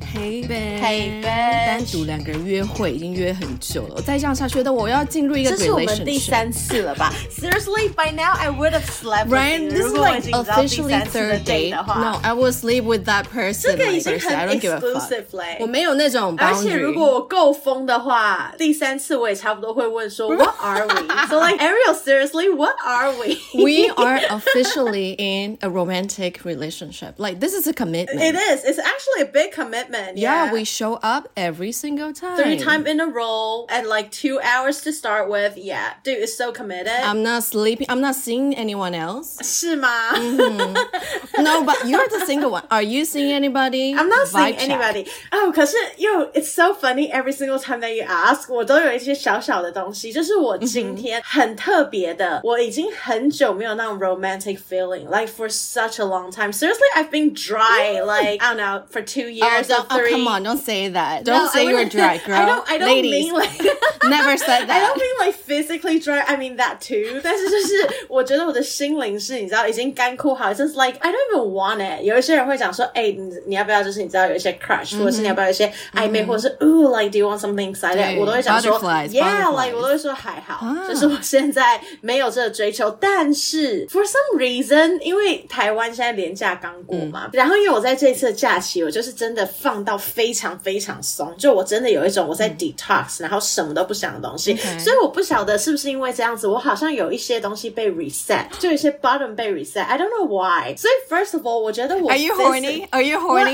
Hey babe， Hey babe， 單獨兩個人約會已經約很久了，再這樣下去的我要進入一個 relationship， 這是我們第3次了吧 ？Seriously, by now I would have slept with right? you. This is like officially third date. No, I will sleep with that person. 這個已經很 I don't give a exclusive fuck. 我沒有那種 boundary. 而且如果我夠瘋的話，第3次我也差不多會問說 What are we? So like Ariel, seriously, what are we? We are officially in a romantic relationship. Like this is a commitment. It is. It's actually a big commitment. Yeah, we show up every single time. 3 times in a row and like 2 hours to start with. Yeah, dude, it's so committed. I'm not sleeping. I'm not seeing anyone else. 是嗎？ No, but you're the single one. Are you seeing anybody? I'm not seeing Vibe anybody. check. Oh, 可是 it's so funny every single time that you ask. 我都有一些小小的東西，就是我今天很特別的，我已經很久沒有那種 romantic feeling, like for such a long time. Seriously, I've been dry, like, I don't know, for 2 years or 3. Oh, come on, don't say that. Don't say you're dry, girl. I don't Ladies, mean like never said that. I don't mean like physically dry. I mean that too. 但是就是我覺得我的心靈是你知道已經乾枯好， just like I don't even want it. 有一些人會講說，你要不要就是你知道有一些 crush， 或者是你要不要有一些曖昧，或者是like do you want something excited？ 我都會講說 yeah, like 我都會說還好，就是我現在沒有這個追求。但是 for some reason， 因為台灣現在連假剛過嘛，然後因為我在這一次的假期，我就是真的放到非常非常鬆，就我真的有一種我在 detox， 然後什麼都不想的東西，所以我不曉得是不是因為這樣子，我好像有一些東西被 reset， 就有一些 button 被 reset， I don't know why。所以 first of all， 我覺得我 Are you horny? Are you horny?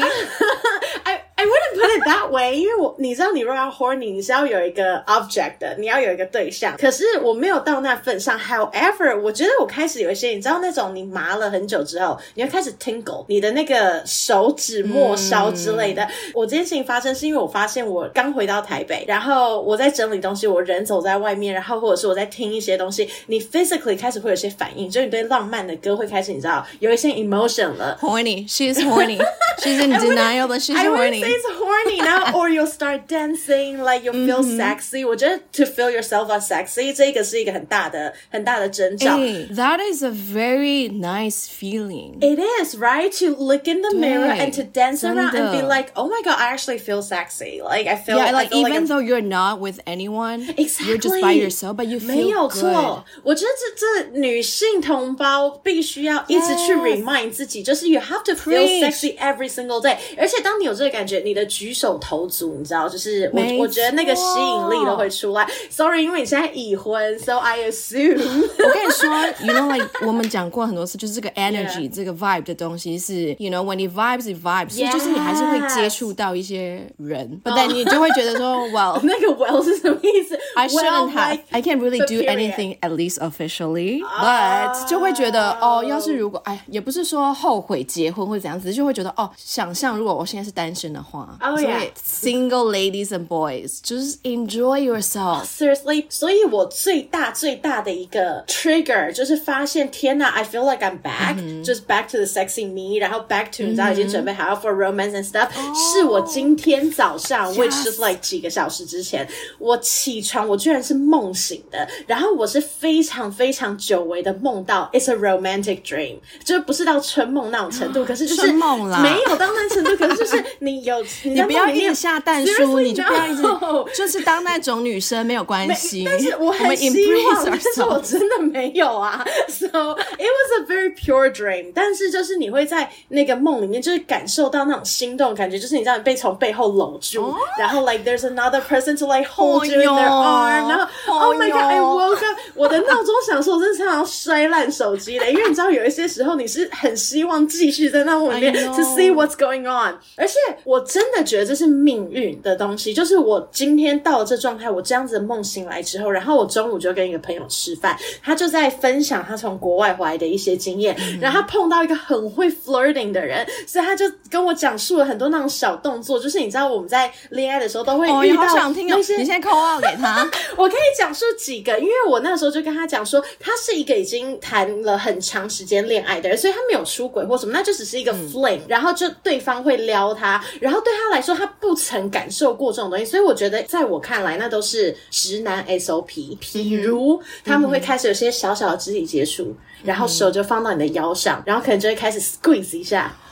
I wouldn't put it that way， 因為你知道你如果要 horny， 你是要有一個 object 的，你要有一個對象。可是我沒有到那份上。However， 我覺得我開始有一些，你知道那種你麻了很久之後，你會開始 tingle， 你的那個手指末梢之類的。我這件事情發生是因為我發現我剛回到台北，然後我在整理東西，我人走在外面，然後或者是我在聽一些東西，你 physically 開始會有些反應，就你對浪漫的歌會開始你知道有一些 emotion 了。 Horny, she's horny. She's in denial, but she's horny. I wouldn't say it's horny now, or you'll start dancing, like you'll feel sexy. 我覺得 to feel yourself as sexy 這個是一個很大的徵兆。 That is a very nice feeling. It is, right? To look in the mirror and to dance around and be like, oh my god, I actually feel sexy. Like I feel, yeah, like I feel even though you're not with anyone, exactly. You're just by yourself, but you feel 沒有 good. 錯，我覺得這女性同胞必須要一直去 remind 自己，就是 you have to feel sexy every single day。而且當你有這個感覺，你的舉手投足，你知道，就是我覺得那個吸引力都會出來。Sorry， 因為你現在已婚 ，so I assume 我跟你說 ，you know like 我們講過很多次，就是這個 energy， 這個 vibe 的東西是 ，you know when it vibes， 所以就是你還是會接觸到一些人，但你就會覺得說 ，well， 那個 well 是什麼意思 ？I shouldn't have. Like I can't really do anything at least officially, but 就會覺得要是如果也不是說後悔結婚或者怎樣子，就會覺得想象如果我現在是單身的話，所以 single ladies and boys 就是 enjoy yourself. Seriously， 所以我最大的一個 trigger 就是發現天哪 I feel like I'm back， just back to the sexy me， 然後 back to 你知道已經準備好 for romance and stuff， 是我今天早上 which just like 幾個小時之前，我起床我居然是夢醒的，然後我是非常非常久違的夢到 it's a romantic dream， 就不是到春夢那種程度，可是就是春夢啦， 沒有到那程度，可是就是你不要一直下蛋書，你就不要一直 no， 就是當那種女生沒有關係， 但是我很希望，但是我真的沒有啊。So it was a very pure dream， 但是就是你會在那個夢裡面就是感受到那種心動的感覺，就是你知道你被從背後摟住，然後 like there's another person to like hold you in their arm， 然後 oh my god I woke up， 我的鬧鐘響說我真的常常摔爛手機的，因為你知道有一些時候你是很希望繼續在那夢裡面 to see what's going on， 而且我真的覺得這是命運的東西，就是我今天到了這狀態，我這樣子的夢醒來之後，然後我中午就跟一個朋友吃飯，他就在分享他從國外回來的一些經驗，然後他碰到一個很會 flirting 的人，所以他就跟我講述了很多那種小動作，就是你知道我們在戀愛的時候都會遇到好想聽哦，你現在 call out 給他我可以講述幾個，因為我那時候就跟他講說他是一個已經談了很長時間戀愛的人，所以他沒有出軌或什麼，那就只是一個 fling，然後就對方會撩他，然後對他來說他不曾感受過這種東西，所以我覺得在我看來那都是直男 SOP， 比如他們會開始有些小小的肢體接觸，然後手就放到你的腰上，然後可能就會開始 squeeze 一下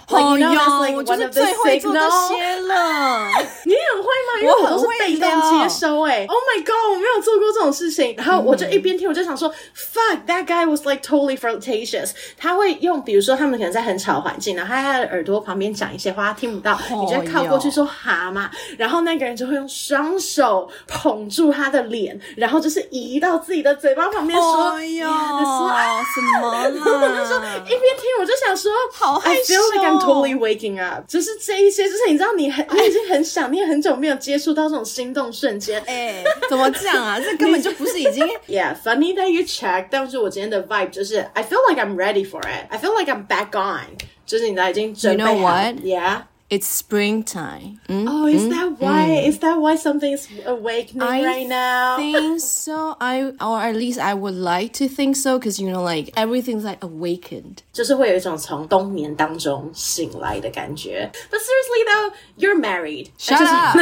Like, you know, that's like one of the signals. 我就是最会做这些了。 你也很会嗎？因為我都是被動接收Oh my god， 我沒有做過這種事情。然後我就一邊聽，我就想說，fuck that guy was like totally flirtatious。他會用，比如說他們可能在很吵的環境，然後他在耳朵旁邊講一些話，他聽不到，你就會靠過去說蛤蟆，然後那個人就會用雙手捧住他的臉，然後就是移到自己的嘴巴旁邊說， 什麼啦？ 那時候一邊聽我就想說， 好害羞。 I feel like I'm totally waking up。就是這一些，就是你知道你已經很想，你也很久沒有接觸到這種心動瞬間。 怎麼講啊？這根本就不是已經 Yeah, funny that you check。但是我今天的 vibe 就是 I feel like I'm ready for it. I feel like I'm back on。就是你知道已經準備好。 You know what? Yeah.It's springtime. Oh, is that why? Is that why something's awakening right now? I think so. Or at least I would like to think so, because you know, like everything's like awakened. 就是會有一種從冬眠當中醒來的感覺。But seriously though, you're married. Shut up.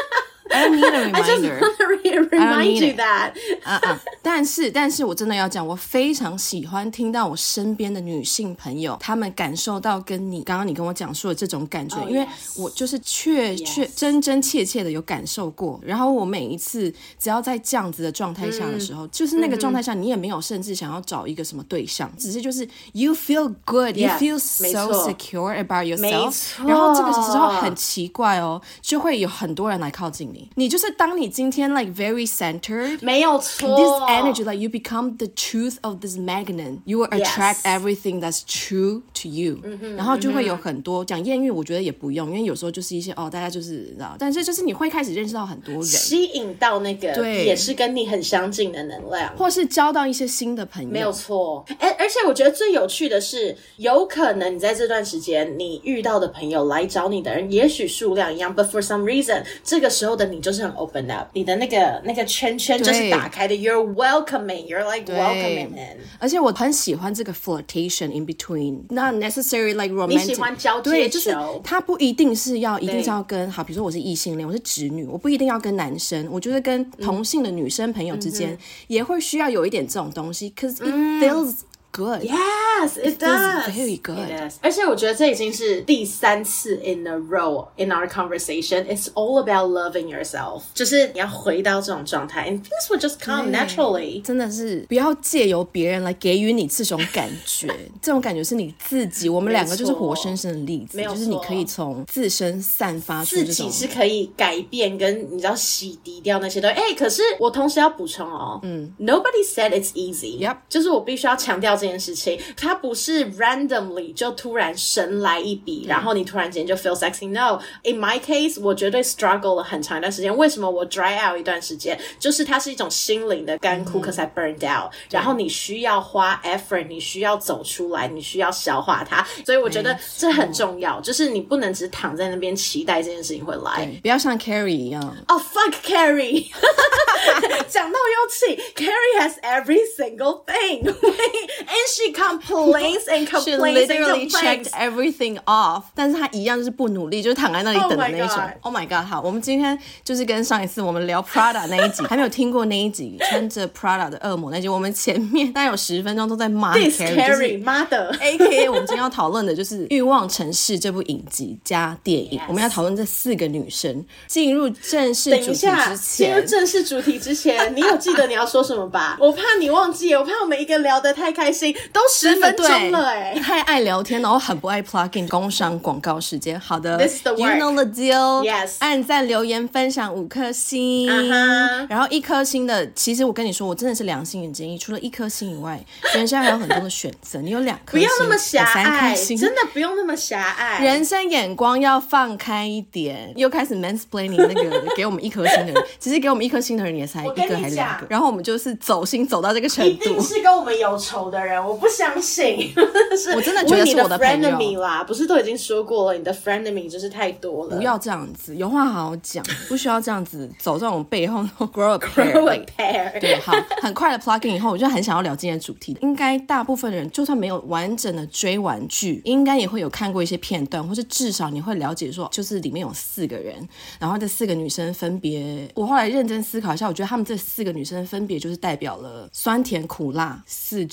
I don't need a reminder. I just want to remind you that. 但是我真的要講，我非常喜歡聽到我身邊的女性朋友，她們感受到跟你剛剛你跟我講述的這種感覺，因為我就是真真切切的有感受過。然後我每一次只要在這樣子的狀態下的時候，就是那個狀態下，你也沒有甚至想要找一個什麼對象，只是就是 you feel good, you feel so secure about yourself。然後這個時候很奇怪哦，就會有很多人來靠近你。你就是當你今天 like very centered， 沒有錯 ，this energy like you become the truth of this magnet， you will attract everything that's true to you，然後就會有很多講豔遇，我覺得也不用，因為有時候就是一些大家就是知道，但是就是你會開始認識到很多人， 吸引到那個也是跟你很相近的能量， 或是交到一些新的朋友， 沒有錯。而且我覺得最有趣的是，有可能你在這段時間你遇到的朋友來找你的人，也許數量一樣 ，but for some reason， 這個時候的你就是很 open up， 你的那個圈圈就是打開的 ，you're welcoming， you're like welcoming in。 而且我很喜歡這個 flirtation in between，not necessarily like romantic。 你喜歡交接球， 對，就是他不一定是要跟好，比如說我是異性戀，我是直女，我不一定要跟男生，我覺得跟同性的女生朋友之間也會需要有一點這種東西 ，cause it feels。Good. Yes, it does. Very good. It does. 而且我覺得這已經是第3次 in a row in our conversation. It's all about loving yourself. 就是你要回到這種狀態 and things will just come naturally. 真的是不要借由別人來給予你這種感覺，這種感覺是你自己。我們兩個就是活生生的例子，就是你可以從自身散發出這種， 自己是可以改變跟你知道洗滌掉那些東西。可是我同時要補充哦，Nobody said it's easy. Yep. 就是我必須要強調這件事情，它不是 randomly 就突然神來一筆，然後你突然間就 feel sexy。No, in my case， 我絕對 struggle 了很長一段時間。為什麼我 dry out 一段時間？就是它是一種心靈的乾枯 ，cause I burned out。然後你需要花 effort， 你需要走出來，你需要消化它。所以我覺得這很重要，就是你不能只躺在那邊期待這件事情會來， 不要像 Carrie 一樣。 Oh fuck Carrie！ 講到又氣 ，Carrie has every single thing。And she complains and complains She literally checked everything off， 但是她一樣就是不努力，就是躺在那裡等的那一種。Oh my god！ 好，我們今天就是跟上一次我們聊 Prada 那一集，還沒有聽過那一集穿着 Prada 的惡魔那集，我們前面大概有10分鐘都在罵 Carrie， 媽的 AKA 我們今天要討論的就是《慾望城市》這部影集加電影，我們要討論這4個女生。進入正式主題之前， 進入正式主題之前，你有記得你要說什麼吧？我怕你忘記，我怕我們一個聊得太開心，都10分鐘了太愛聊天，然後很不愛 plug in 工商廣告時間。好的 This is the work. You know the deal. Yes. 按讚留言分享5顆星，然後1顆星的，其實我跟你說，我真的是良心的建議，除了1顆星以外，人生還有很多的選擇。你有2顆星， 不要那麼狹隘， 3顆星， 真的不用那麼狹隘。 人生眼光要放開一點。又開始 mansplaining 那個給我們1顆星的人，其實給我們1顆星的人也才1個還是2個，然後我們就是走心走到這個程度， 一定是跟我們有仇的人，我不相信。 我真的覺得是我的朋友。 你的 frenemy 啦，不是都已經說過了，你的 frenemy 就是太多了。 不要這樣子，有話好好講，不需要這樣子走這種背後 grow a pair。對，好，很快的 plug in 以後，我就很想要聊今天的主題。應該大部分的人就算沒有完整的追完劇，應該也會有看過一些片段，或是至少你會了解說，就是裡面有4個人，然後這4個女生分別，我後來認真思考一下，我覺得她們這4個女生分別就是代表了酸甜苦辣4種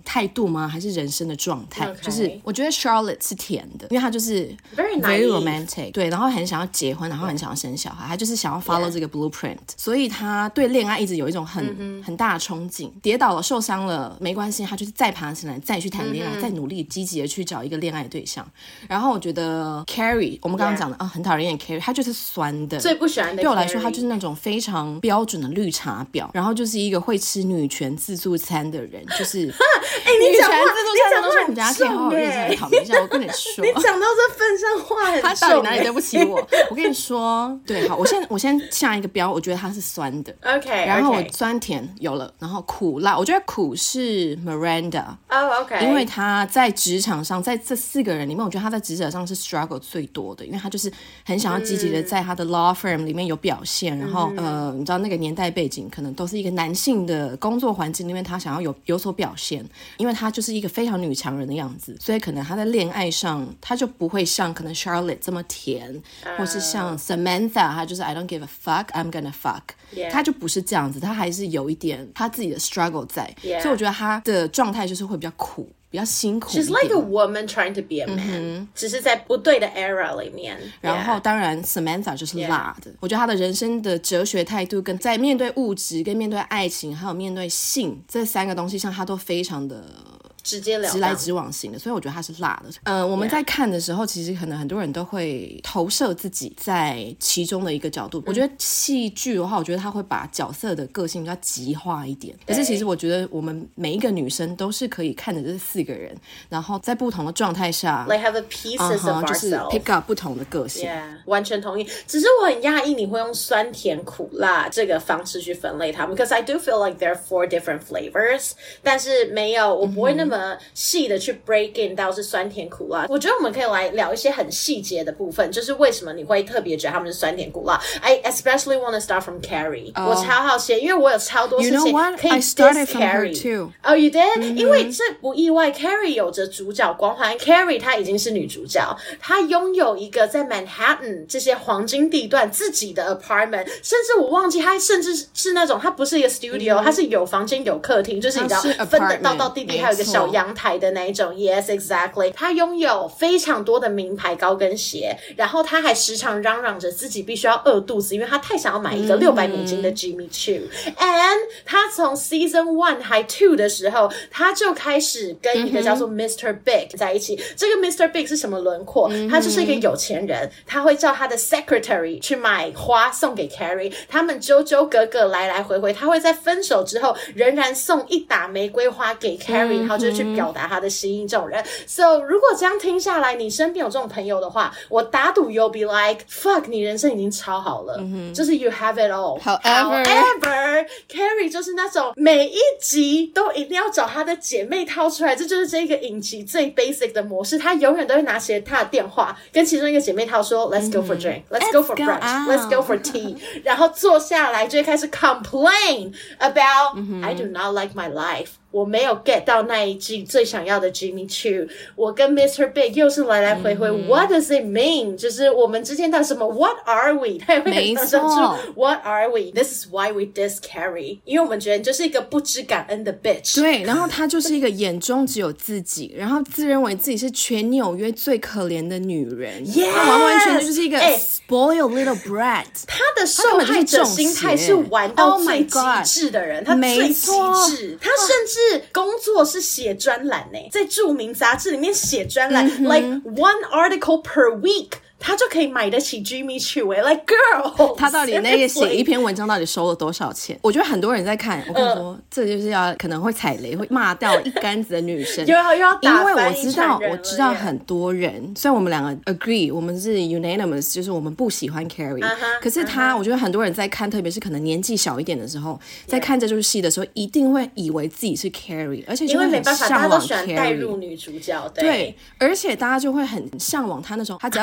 態度嗎？還是人生的狀態？ Okay. 就是我覺得 Charlotte 是甜的，因為她就是 very romantic， 對，然後很想要結婚，然後很想要生小孩，她就是想要 follow 這個 blueprint， 所以她對戀愛一直有一種很大的憧憬。跌倒了受傷了沒關係，她就是再爬起來再去談戀愛，再努力積極的去找一個戀愛對象。然後我覺得 Carrie 我們剛剛講的很討人厭 Carrie， 她就是酸的， 最不喜歡的 Carrie。對我來說她就是那種非常標準的綠茶婊，然後就是一個會吃女權自助餐的人，就是女权自助餐的東西我們等一下可以好好認真討論一下。我跟你說你講到這份上話很重， 他到底哪裡對不起我？我跟你說，對，好，我先下一個標，我覺得它是酸的 OK， 然後我酸甜有了，然後苦辣，我覺得苦是 Miranda OK， 因為他在職場上，在這4個人裡面，我覺得他在職場上是 struggle 最多的，因為他就是很想要積極的在他的 law firm 裡面有表現，然後你知道那個年代背景可能都是一個男性的工作環境裡面，他想要有所表現，因為他就是一個非常女強人的樣子，所以可能他在戀愛上他就不會像可能 Charlotte 這麼甜，或是像 Samantha 他就是 I don't give a fuck I'm gonna fuck， 他就不是這樣子，他還是有一點他自己的 struggle 在，所以我覺得他的狀態就是會比較苦，比較辛苦一點。 She's like a woman trying to be a man，只是在不對的 era 裡面。 然後當然 Samantha 就是辣的，我觉得她的人生的哲學態度跟在面對物質跟面對愛情還有面對性這3個東西上，她都非常的直截了當， 直來直往型的，所以我覺得它是辣的。我們在看的時候，其實可能很多人都會投射自己在其中的一個角度。我覺得戲劇的話，我覺得它會把角色的個性比較極化一點。可是其實我覺得我們每一個女生都是可以看着這4個人，然後在不同的狀態下 ，like have a pieces of ourselves， 就是 pick up 不同的個性。 完全同意。只是我很訝異你會用酸甜苦辣這個方式去分類它們 ，because I do feel like there are 4 different flavors， 但是沒有，我不會那麼細的去 break in 到是酸甜苦辣。我覺得我們可以來聊一些很細節的部分，就是為什麼你會特別觉得他們是酸甜苦辣。I especially want to start from Carrie， 我超好奇，因為我有超多事情可以 diss Carrie。Oh, you did？ 因為這不意外 ，Carrie 有着主角光環。Carrie 她已經是女主角，她擁有一個在 Manhattan 這些黃金地段自己的 apartment， 甚至我忘記她甚至是那種她不是一個 studio， 她是有房間有客廳，就是你知道分得道道地地，還有一個小陽台的那一種 ，Yes, exactly。他擁有非常多的名牌高跟鞋，然後他還時常嚷嚷着自己必須要餓肚子，因為他太想要買一個$600的 Jimmy Choo。And 他從 Season 1還 2的時候，他就開始跟一個叫做 Mr. Big 在一起。這個 Mr. Big 是什麼輪廓？他就是一個有錢人，他會叫他的 secretary 去買花送給 Carrie， 他們糾糾葛葛來來回回，他會在分手之後仍然送一打玫瑰花給 Carrie， 然後就去表達他的心意。這種人 ，So 如果這樣聽下來，你身邊有這種朋友的話，我打賭 you'll be like fuck， 你人生已經超好了，就是 you have it all。However, Carrie 就是那種每一集都一定要找她的姐妹掏出來，這就是這個影集最 basic 的模式。她永遠都會拿起她的電話，跟其中一個姐妹掏說 ，Let's go for drink, Let's go for brunch, Let's go for tea， 然後坐下來就會開始 complain about I do not like my life。我沒有 get 到那一季最想要的 Jimmy Choo， 我跟 Mr. Big 又是來來回回，What does it mean？ 就是我們之間到底什麼 What are we？ 他也會很常說 What are we？ This is why we diss Carrie， 因為我們覺得你就是一個不知感恩的 bitch。 對，然後他就是一個眼中只有自己，然後自認為自己是全紐約最可憐的女人，他完完全全就是一個 spoiled little brat。 他的受害者心態是玩到最極致的人，他最極致，他甚至工作是寫專欄呢，在著名雜誌裡面寫專欄，like one article per week。他就可以買得起 Jimmy Choo like girl， 他到底那個寫一篇文章到底收了多少錢？我覺得很多人在看，我跟你說，這就是要可能會踩雷，會罵掉一竿子的女生。又要打翻，因為我知道很多人，雖然我們兩個 agree， 我們是 unanimous， 就是我們不喜歡 Carrie，可是我覺得很多人在看，特別是可能年紀小一點的時候，在看這出戲的時候，一定會以為自己是 Carrie， 而且就會很向往 Carrie， 帶入女主角， 對，而且大家就會很向往她那種，她只要在家裡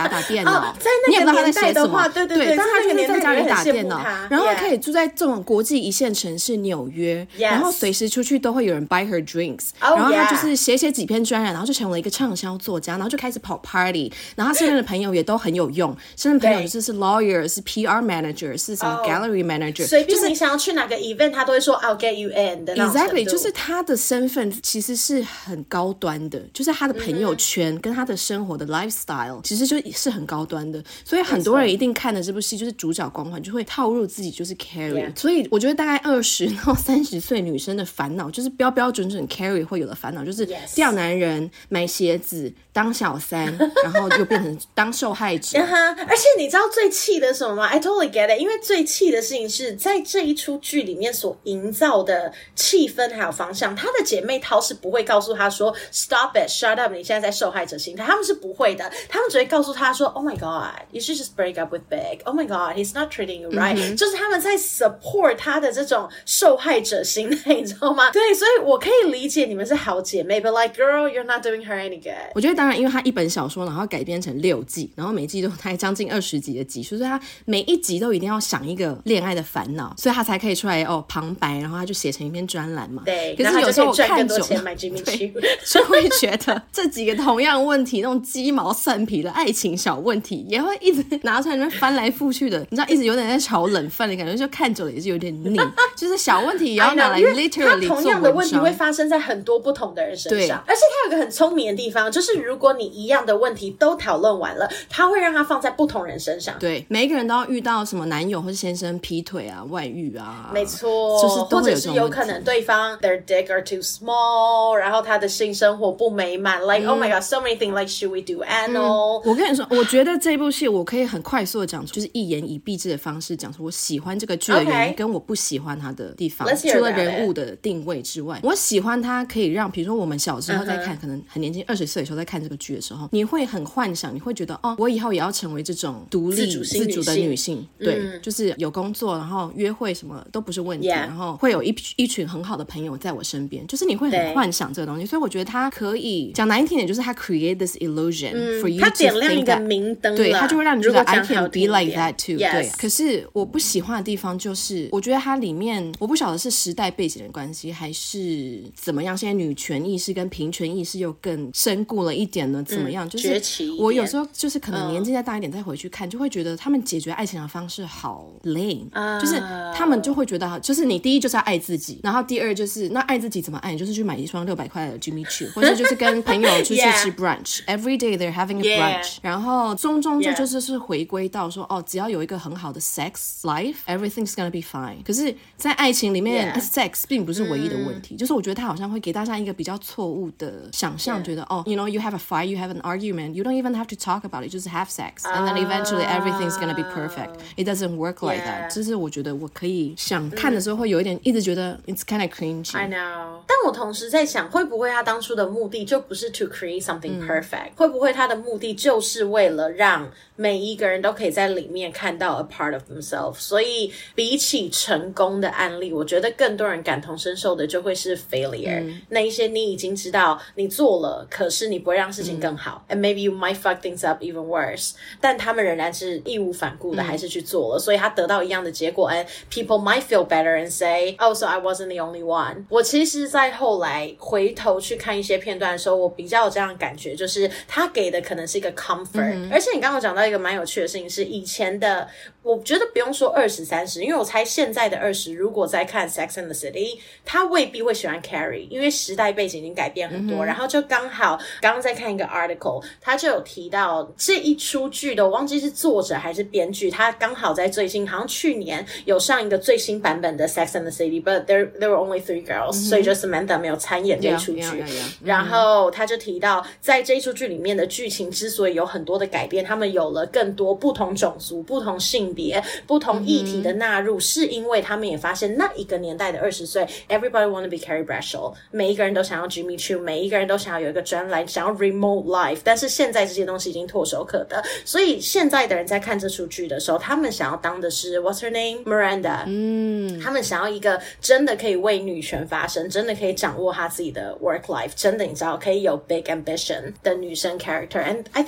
打電腦， 在那個年代的話，對， 但他就是在家裡打電腦，然後可以住在這種國際一線城市紐約，然後隨時出去都會有人 buy her drinks，然後他就是寫幾篇專欄，然後就成為一個暢銷作家，然後就開始跑 party， 然後他身邊的朋友也都很有用，身邊朋友就是 lawyer， 是 PR manager， 是什麼 gallery manager， 隨便你想要去哪個 event， 他都會說 I'll get you in 的那種程度。 Exactly， 就是他的身份其實是很高端的，就是他的朋友圈跟他的生活的 lifestyle 其實就是很高端的，所以很多人一定看的這部戲就是主角光環就會套入自己就是 Carrie， 所以我覺得大概20到30歲女生的煩惱就是標標準準 Carrie 會有的煩惱，就是釣男人、買鞋子、當小三，然後又變成當受害者。 而且你知道最氣的是什麼嗎？ I totally get it， 因為最氣的事情是在這一出劇裡面所營造的氣氛還有方向，她的姐妹淘是不會告訴她說 Stop it, shut up， 你現在在受害者心態，他們是不會的，他們只會告訴她說 Oh my god, you should just break up with Big, Oh my god, he's not treating you right，就是他們在 support 她的這種受害者心態，你知道嗎？对，所以我可以理解你們是好姐妹 But like girl, you're not doing her any good。 我覺得當然因為她一本小說然後改編成6季，然後每季都大概將近20集的集數，所以她每一集都一定要想一個戀愛的煩惱，所以她才可以出來旁白，然後她就寫成一篇專欄嘛。 對， 可是有時候我看久了就會覺得這幾個同樣問題那種雞毛蒜皮的愛情小問題也會一直拿出來那邊翻來覆去的，你知道一直有點在炒冷飯的感覺，就看久了也是有點膩就是小問題也要拿來 literally 做文章， 同樣的問題會發生在很多不同的人身上，而且它有一個很聰明的地方，就是如果你一樣的問題都討論完了，它會讓它放在不同人身上。 對，每一個人都要遇到什麼男友或是先生劈腿啊、外遇啊， 沒錯，就是或者是有可能对方 their dick are too small， 然後他的性生活不美滿，like oh my god so many things， like should we do anal？ 我跟你說，我覺得這部戲我可以很快速的講出，就是一言以蔽之的方式講出我喜歡這個劇的原因跟我不喜歡它的地方，除了人物的定位之外，我喜歡它可以讓比如說我們小時候在看可能很年輕20歲的時候在看這個劇的時候，你會很幻想，你會覺得哦，我以後也要成為這種獨立自主的女性，對，就是有工作，然後約會什麼都不是問題，然後會有一群很好的朋友在我身邊，就是你會很幻想這個東西，所以我覺得它可以講難聽點，就是它 create this illusion for you to think that， 它點亮一個明燈， 對，它就會讓你覺得 I can be like that too， yes， 對。可是我不喜歡的地方就是，我覺得它裡面我不曉得是時代背景的關係，還是怎麼樣，現在女權意識跟平權意識又更深固了一點呢？怎麼樣？就是我有時候就是可能年紀再大一點再回去看，就會覺得他們解決愛情的方式好 lame，就是他們就會覺得，就是你第一就是要愛自己，然後第二就是那愛自己怎麼愛？就是去買一雙600塊的 Jimmy Choo， 或者就是跟朋友出去吃 brunch，every day they're having a brunch， 然後終就是回歸到說哦，只要有一個很好的 sex life，everything's gonna be fine。可是，在愛情裡面，sex 並不是唯一的問題，就是我覺得他好像會給大家一個比較錯誤的想象，覺得哦 ，you know you have a fight, you have an argument, you don't even have to talk about it， 就是 have sex，and then eventually everything's gonna be perfect. It doesn't work like that。这是我覺得我可以想看的時候會有一點一直覺得 it's kind of cringy。I know。但我同時在想，會不會他當初的目的就不是 to create something perfect？會不會他的目的就是為了讓每一個人都可以在裡面看到 a part of themselves， 所以比起成功的案例，我覺得更多人感同身受的就會是 failure，那一些你已經知道你做了，可是你不會讓事情更好，and maybe you might fuck things up even worse， 但他們仍然是義無反顧的還是去做了，所以他得到一樣的結果，and people might feel better and say oh so I wasn't the only one。 我其實在後來回頭去看一些片段的時候，我比較有這樣的感覺，就是他給的可能是一個 comfort，而且你剛剛講到一個蠻有趣的事情是，以前的我覺得不用說20、30，因為我猜現在的20如果在看 Sex and the City， 他未必會喜歡 Carrie， 因為時代背景已經改變很多，然後就剛好剛剛在看一個 article， 他就有提到這一出劇的，我忘記是作者還是編劇，他剛好在最近好像去年有上一個最新版本的 Sex and the City， but there were only 3 girls，所以就 Samantha 沒有參演這一出劇，然後他就提到在這一出劇裡面的劇情之所以有很多的改變，他們有了更多不同種族、不同性別、不同議題的納入，是因為他們也發現那一個年代的20歲 everybody want to be Carrie Bradshaw， 每一個人都想要 Jimmy Choo， 每一個人都想要有一個專欄，想要 remote life， 但是現在這些東西已經唾手可得，所以現在的人在看這出劇的時候，他們想要當的是 What's her name? Miranda， 他們想要一個真的可以為女權發聲，真的可以掌握她自己的 work life， 真的你知道可以有 big ambition 的女生 character， and I think that's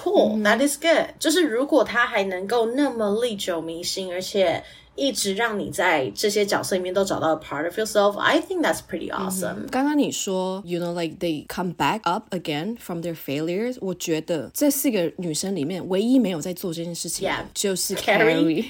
cool、that is good。就是如果他還能夠那麼歷久彌新，而且一直讓你在這些角色裡面都找到 a part of yourself, I think that's pretty awesome. 剛剛你說 you know like they come back up again from their failures, 我覺得這4個女生裡面唯一沒有在做這件事情就是 Carrie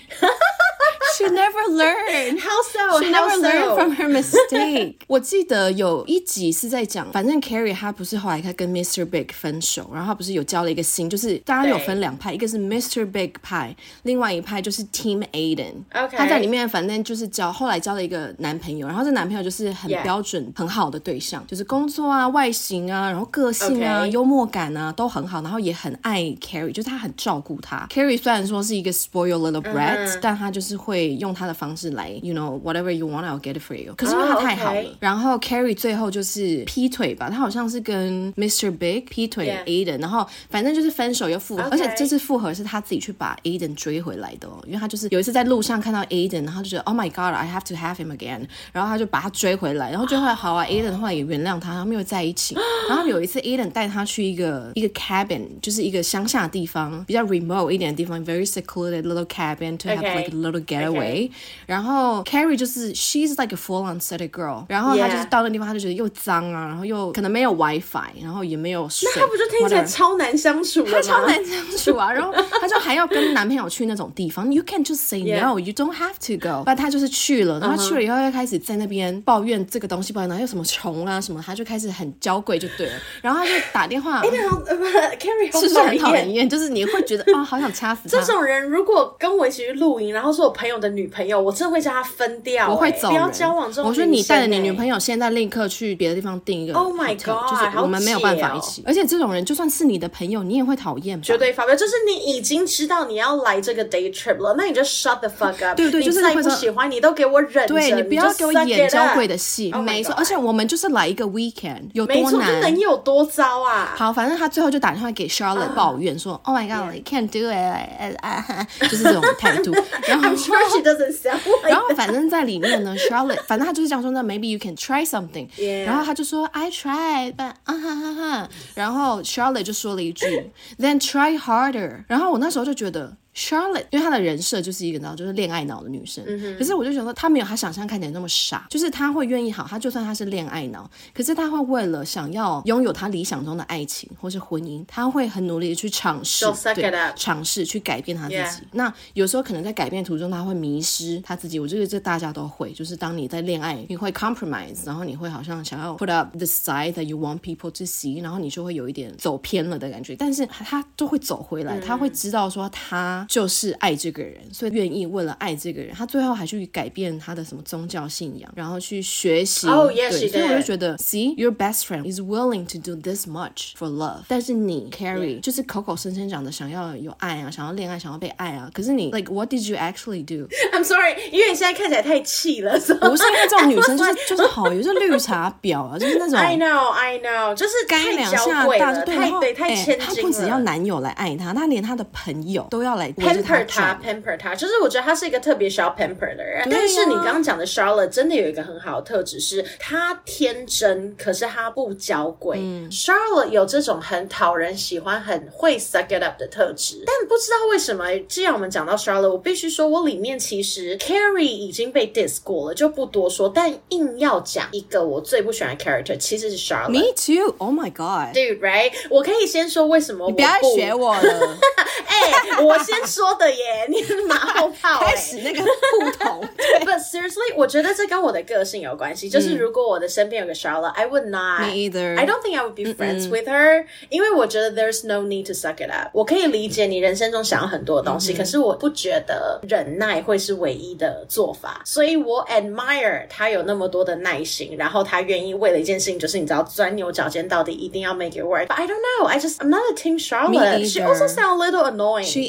She never learned. How so? She never learned from her mistake. 我記得有一集是在講，反正 Carrie 她不是後來她跟 Mr. Big 分手，然後她不是有交了一個新，就是大家有分兩派，一個是 Mr. Big 派，另外一派就是 Team Aiden。Okay. 她在裡面反正就是後來交了一個男朋友，然後這男朋友就是很標準、很好的對象，就是工作啊、外形啊，然後個性啊、幽默感啊都很好，然後也很愛 Carrie， 就是他很照顧她。Carrie 雖然說是一個 spoiled little brat，但他就是會用他的方式來 you know whatever you want I'll get it for you， 可是因為他太好了，然後 Carrie 最後就是劈腿吧，他好像是跟 Mr. Big 劈腿 Aiden， 然後反正就是分手又復合，而且這次復合是他自己去把 Aiden 追回來的因為他就是有一次在路上看到 Aiden， 然後就覺得 Oh my God I have to have him again， 然後他就把他追回來，然後追回來好啊Aiden 後來也原諒他，他們又在一起，然後有一次 Aiden 帶他去一個 cabin， 就是一個鄉下的地方，比較 remote 一點的地方， very secluded little cabin to have like a little getaway，然後 Carrie 就是 she's like a full on city girl， 然後她就是到那地方她就覺得又髒啊，然後又可能没有 WiFi， 然後也沒有水， 那她不就聽起來超難相處了嗎？她超難相處啊，然後她就還要跟男朋友去那種地方You can't just say no you don't have to go， 但她就是去了，然後去了以後又開始在那邊抱怨這個東西，抱怨然後有什麼蟲啊什麼，她就開始很嬌貴就對了，然後她就打電話 Carrie 是不是很討人厭？就是你會覺得好想掐死她。 這種人如果跟我一起去露營，然後是我朋友的女朋友，我真的會叫她分掉， 我會走人， 不要交往這種女生。 我說你帶着你女朋友現在立刻去別的地方訂一個 Oh my God， 就是我們沒有辦法一起，而且這種人就算是你的朋友你也會討厭吧， 絕對發飆，就是你已經知道你要來這個 day trip 了，那你就 shut the fuck up， 對， 就是你再不喜歡你都給我忍着， 對，你不要給我演嬌貴的戲， Oh 沒錯，而且我們就是來一個 weekend， 有多難， 沒錯，就能有多糟啊。 好，反正他最後就打電話給 Charlotte 抱怨說 Oh my God I can't do it， 就是這種態度然後 I'm sure she doesn't sound like that， 然後反正在裡面呢Charlotte 反正他就是這樣說，那 maybe you can try something， 然後他就說 I tried but 然後 Charlotte 就說了一句Then try harder， 然後我那時候就覺得Charlotte 因為她的人設就是一個就是戀愛腦的女生，可是我就想說她沒有她想象看起來那麼傻，就是她會願意好，她就算她是戀愛腦，可是她會為了想要擁有她理想中的愛情或是婚姻，她會很努力的去嘗試，對，嘗試去改變她自己，那有時候可能在改變途中她會迷失她自己，我覺得這大家都會，就是當你在戀愛你會 compromise， 然後你會好像想要 put up the side that you want people to see， 然後你就會有一點走偏了的感覺，但是她都會走回來，她會知道說她就是愛這個人，所以願意為了愛這個人，他最後還去改變他的什麼宗教信仰，然後去學習。 對， 所以我就覺得 See, your best friend is willing to do this much for love， 但是你 Carrie 就是口口聲聲講的想要有愛啊，想要戀愛，想要被愛啊，可是你 like what did you actually do？ I'm sorry， 因為你現在看起來太氣了，不是因為這種女生就是好有些綠茶婊啊，就是那種 I know， 就是該兩下大就對，太千金了。 她不只要男友來愛她，她連她的朋友都要來 pamper 他，就是我覺得他是一個特別需要 pamper 的人，但是你剛剛講的 Charlotte 真的有一個很好的特質，是他天真，可是他不嬌貴。Charlotte 有這種很討人喜歡、很會 suck it up 的特質，但不知道為什麼，既然我們講到 Charlotte， 我必須說，我裡面其實 Carrie 已經被 diss 過了，就不多說，但硬要講一個我最不喜歡的 character， 其實是 Charlotte。Me too. Oh my God. Dude, right? 我可以先說為什麼我不， 你不要學我了。 我先說的耶，你是馬後炮開始那個互捅。 But seriously， 我覺得這跟我的個性有關係。就是如果我的身邊有個 Charlotte，I would not. Me either. I don't think I would be friends with her， 因為我覺得 there's no need to suck it up。我可以理解你人生中想要很多的東西，可是我不覺得忍耐會是唯一的做法。所以我 admire 他有那麼多的耐心，然後他願意為了一件事情，就是你知道鑽牛角尖到底，一定要 make it work。But I don't know. I'm not a team Charlotte. She also sounds a little annoying. She is.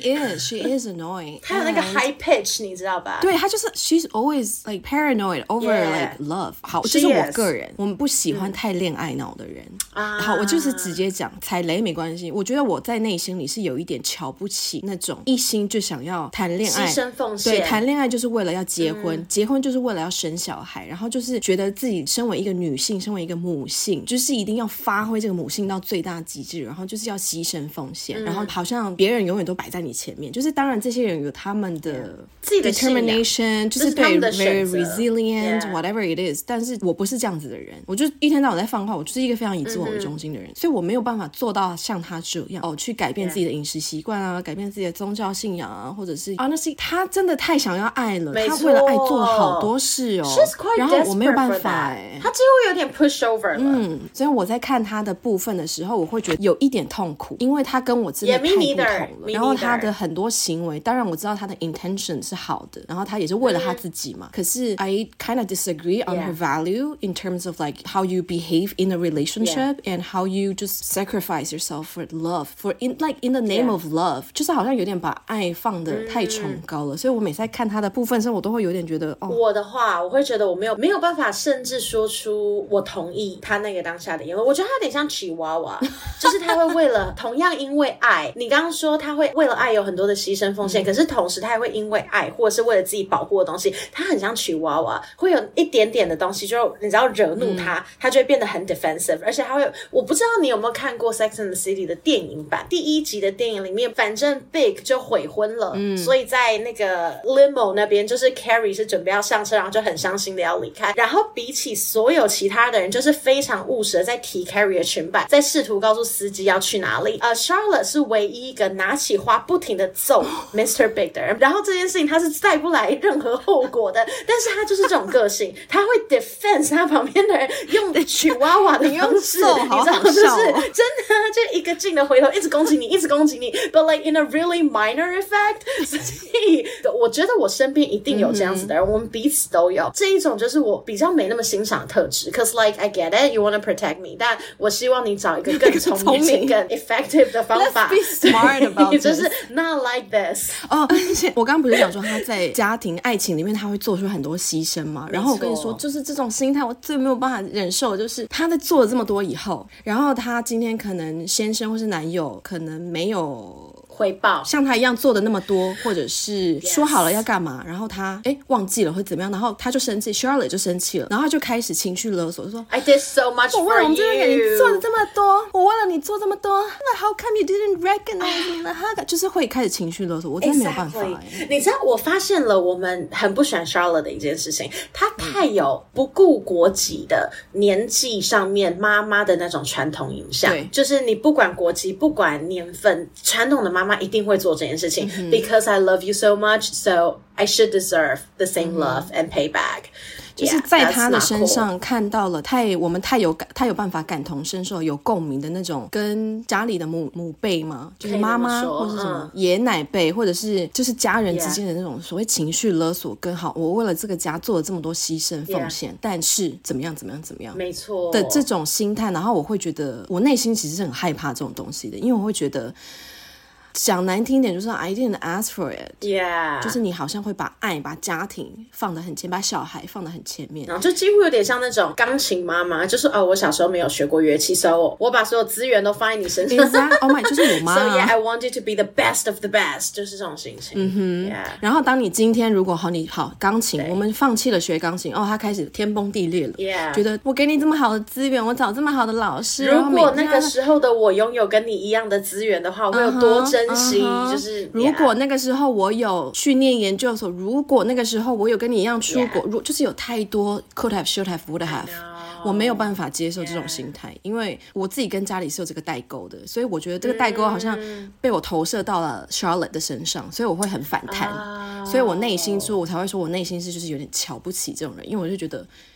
she is annoying. 她有那個 high pitch， 你知道吧？ 对，她就是 she's always like paranoid over like love。好，这是我個人，我們不喜歡太戀愛腦的人。好，我就是直接講，踩雷沒關係。我覺得我在內心裡是有一點瞧不起那種一心就想要談戀愛、 犧牲奉獻。 對，談戀愛就是為了要結婚，結婚就是為了要生小孩，然後就是覺得自己身為一個女性，身為一個母性，就是一定要發揮這個母性到最大極致，然後就是要犧牲奉獻，然後好像別人永遠都擺在你前面。就是當然這些人有他們的 determination， 就是對 very resilient whatever it is， 但是我不是這樣子的人，我就一天到晚在放話，我就是一個非常以自我為中心的人，所以我沒有辦法做到像他這樣去改變自己的飲食習慣啊，改變自己的宗教信仰啊，或者是 honestly 他真的太想要愛了，他為了愛做了好多事哦，然後我沒有辦法他幾乎有點 push over 了。 所以我在看他的部分的時候，我會覺得有一點痛苦，因為他跟我真的太不同了。然後他的很多行為，當然我知道他的 intention 是好的，然後他也是為了他自己嘛。可是 I kind of disagree on her value in terms of like how you behave in a relationship and how you just sacrifice yourself for love, for in the name of love， 就是好像有點把愛放得太崇高了。所以我每次在看他的部分的時候，我都會有點覺得我的話，我會覺得我沒有辦法，甚至說出我同意他那個當下的言論。我覺得他有點像吉娃娃，就是他會為了同樣因為愛，你剛剛說他會為了愛有很多的犧牲奉獻，可是同時他也會因為愛或者是為了自己保護的東西，他很像吉娃娃，會有一點點的東西，就你只要惹怒他，他就會變得很 defensive， 而且他會，我不知道你有沒有看過 Sex and the City 的電影版，第一集的電影裡面，反正 Big 就悔婚了，所以在那個 limo 那邊，就是 Carrie 是準備要上車，然後就很傷心的要離開，然後比起所有其他的人，就是非常務實的在提 Carrie 的裙擺，在試圖告訴司機要去哪裡。Charlotte 是唯一一個拿起花不停的揍 Mr. Big 的人，然後這件事情他是帶不來任何後果的，但是他就是這種個性，他會 defense 他旁邊的人用吉娃娃的方式，你知道，就是真的就一個勁的回頭一直攻擊你，一直攻擊你 ，but like in a really minor effect。所以我覺得我身邊一定有這樣子的人，我們彼此都有這一種，就是我比較沒那麼欣賞的特質。Cause like I get it, you want to protect me， 但我希望你找一個更聰明、更 effective 的方法。 Let's be smart about this， 就是 not like this。 而且我剛剛不是講說他在家庭、愛情裡面他會做出很多犧牲嗎？然後我跟你說，就是這種心態我最沒有辦法忍受，就是他在做了這麼多以後，然後他今天可能先生或是男友可能沒有回報像他一樣做的那麼多，或者是說好了要幹嘛，然後他忘記了或怎麼樣，然後他就生氣 Charlotte 就生氣了，然後他就開始情緒勒索，就說 I did so much for you， 我為了我們這邊給你做了這麼多，我為了你做這麼多，那 how come you didn't recognize me？ 就是會開始情緒勒索，我真的沒有辦法。 你知道我發現了我們很不喜歡 Charlotte 的一件事情，她太有不顧國籍的年紀上面媽媽的那種傳統影響，就是你不管國籍不管年份，傳統的媽媽一定會做這件事情， because I love you so much, so I should deserve the same love and payback。 就是在他的身上看到了我們太有辦法感同身受、有共鳴的那種，跟家裡的母輩嘛，就是媽媽或是什麼爺奶輩，或者是就是家人之間的那種所謂情緒勒索，跟好我為了這個家做了這麼多犧牲奉獻，但是怎麼樣， 沒錯的這種心態，然後我會覺得我內心其實是很害怕這種東西的，因為我會覺得。講難聽一點就是 I didn't ask for it， 就是你好像會把愛把家庭放得很前，把小孩放得很前面， 然後就幾乎有點像那種鋼琴媽媽，就是我小時候沒有學過樂器，所以我把所有資源都放在你身上。 Oh my， 就是我媽。 So yeah, I want you to be the best of the best， 就是這種心情。 然後當你今天如果你好鋼琴，我們放棄了學鋼琴，他開始天崩地裂了。覺得我給你這麼好的資源，我找這麼好的老師， 如果那個時候的我擁有跟你一樣的資源的話，我會有多珍惜。就是如果那個時候我有去念研究所，如果那個時候我有跟你一樣出國，就是有太多 could have, should have, would have， 我沒有辦法接受這種心態，因為我自己跟家裡是有這個代溝的，所以我覺得這個代溝好像被我投射到了 Charlotte 的身上，所以我會很反彈，所以我內心說，我才會說我內心是就是有點瞧不起這種人，因為我就覺得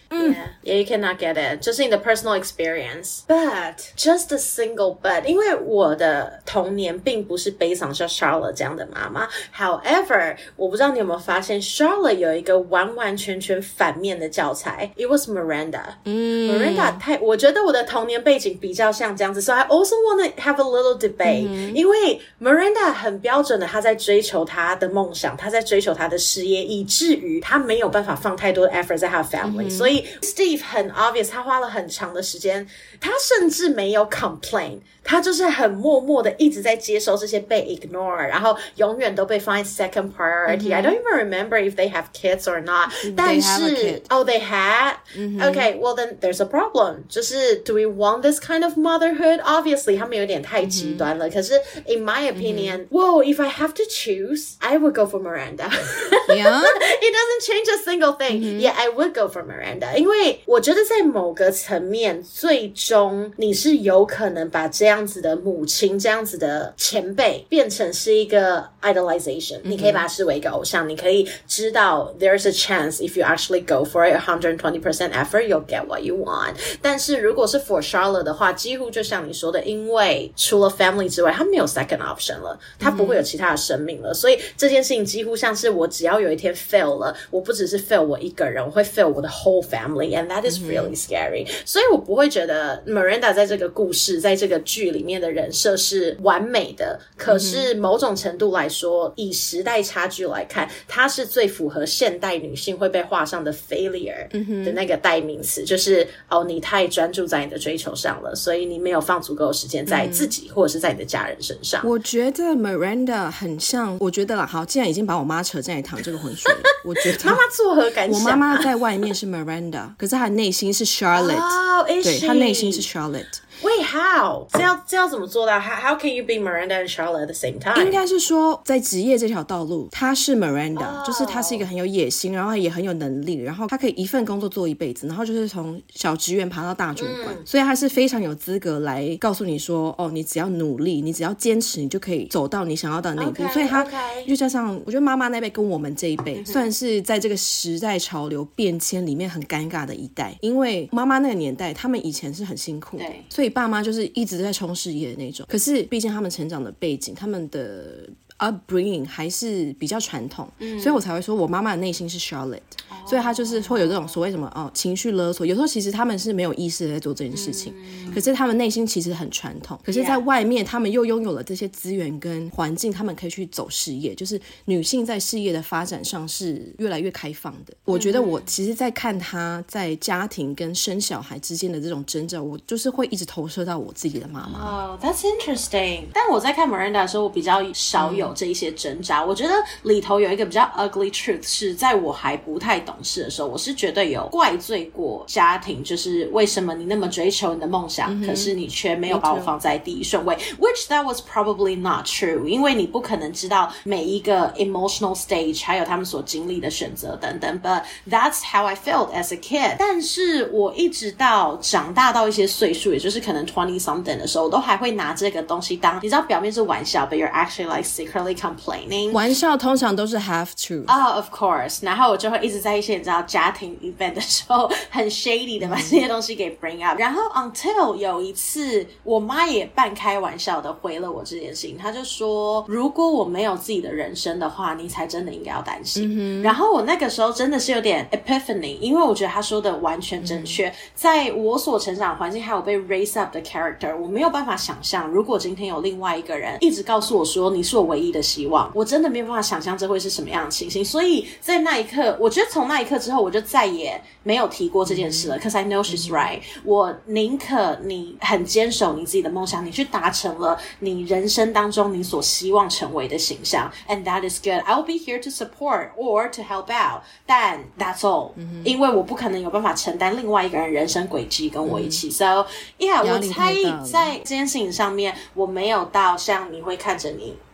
Yeah, you cannot get it. 就是你的 personal experience. But, just a single but. 因為我的童年並不是悲傷像 Charlotte 這樣的媽媽。However, 我不知道你有沒有發現 Charlotte 有一個完完全全反面的教材。It was Miranda. Miranda 我覺得我的童年背景比較像這樣子。So I also want to have a little debate. 因為 Miranda 很標準的，她在追求她的夢想，她在追求她的事業，以至於她沒有辦法放太多的 effort 在她的 family。所以 Steve 很 obvious， 他花了很長的時間，他甚至沒有 complain， 他就是很默默的一直在接受這些被 ignore， 然後永遠都被放在 second priority。I don't even remember if they have kids or not。但是 Oh, they had? Okay, well then there's a problem。就是 Do we want this kind of motherhood? Obviously 他們有點太極端了。可是 in my opinion, whoa, if I have to choose, I would go for Miranda. Yeah? It doesn't change a single thing. Yeah, I would go for Miranda。因為我覺得在某個層面，最終你是有可能把這樣子的母親，這樣子的前輩變成是一個 idolization。你可以把它視為一個偶像，你可以知道 there's a chance if you actually go for it 120% effort, you'll get what you want。但是如果是 for Charlotte 的話，幾乎就像你說的，因為除了 family 之外，他沒有 second option 了，他不會有其他的生命了，所以這件事情幾乎像是我只要有一天 fail 了，我不只是 fail 我一個人，我會 fail 我的 whole family and that is really scary。所以我不會覺得 Miranda 在這個故事，在這個劇裡面的人設是完美的，可是某種程度來說，以時代差距來看，它是最符合現代女性會被畫上的 failure 的那個代名詞，就是你太專注在你的追求上了，所以你沒有放足夠的時間在自己或者是在你的家人身上。 我覺得 Miranda 很像，我覺得啦，好，既然已經把我媽扯進來淌這個渾水了，我覺得媽媽作何感想？ 我媽媽在外面是 Miranda， 可是她的內心是 Charlotte。對，她內心是 Charlotte。Wait, how? 這要怎麼做到？ How can you be Miranda and Charlotte at the same time? 應該是說，在職業這條道路，她是 Miranda，就是她是一個很有野心，然後也很有能力，然後她可以一份工作做一輩子，然後就是從小職員爬到大主管，所以她是非常有資格來告訴你說，你只要努力，你只要堅持，你就可以走到你想要的那一步。所以她就加上，我覺得媽媽那輩跟我們這一輩，算是在這個時代潮流變遷裡面很尷尬的一代，因為媽媽那個年代，他們以前是很辛苦的，所以爸媽就是一直在衝事業的那種，可是畢竟他們成長的背景，他們的 upbringing 還是比較傳統，所以我才會說我媽媽的內心是 Charlotte，所以她就是會有這種所謂什麼情緒勒索，有時候其實他們是沒有意識的在做這件事情，可是他們內心其實很傳統，可是在外面他們又擁有了這些資源跟環境，他們可以去走事業，就是女性在事業的發展上是越來越開放的。我覺得我其實在看她在家庭跟生小孩之間的這種掙扎，我就是會一直投射到我自己的媽媽。 That's interesting。但我在看 Miranda 的時候，我比較少有這一些掙扎。我覺得裡頭有一個比較 ugly truth 是在我還不太懂事的時候，我是絕對有怪罪過家庭，就是為什麼你那麼追求你的夢想，可是你卻沒有把我放在第一順位。Which that was probably not true， 因為你不可能知道每一個 emotional stage 還有他們所經歷的選擇等等。But that's how I felt as a kid。但是我一直到長大到一些歲數，也就是可能 20 something 的時候，我都還會拿這個東西當，你知道表面是玩笑 ，but you're actually like secretly complaining。 玩笑通常都是 half truth。Of course。然後我就会一直在一些你知道家庭 event 的時候，很 shady 的把这些東西給 bring up。然後 until 有一次，我媽也半開玩笑的回了我這件事情，她就說：“如果我沒有自己的人生的話，你才真的應該要擔心。”然後我那個時候真的是有點 epiphany， 因為我覺得她說的完全正確。在我所成長的環境，還有被 raise up 的 character， 我沒有辦法想象，如果今天有另外一個人一直告訴我說你是我唯一的希望，我真的沒有辦法想象這會是什麼樣的情形。所以在那一刻，我覺得從那一刻之後，我就再也沒有提過這件事了。Cause I know she's right。我寧可你很堅守你自己的夢想，你去達成了你人生當中你所希望成為的形象 ，and that is good. I'll be here to support or to help out. 但 that's all。因為我不可能有辦法承擔另外一個人人生軌跡跟我一起。So yeah， 我猜在這件事情上面，我沒有到像你會看着你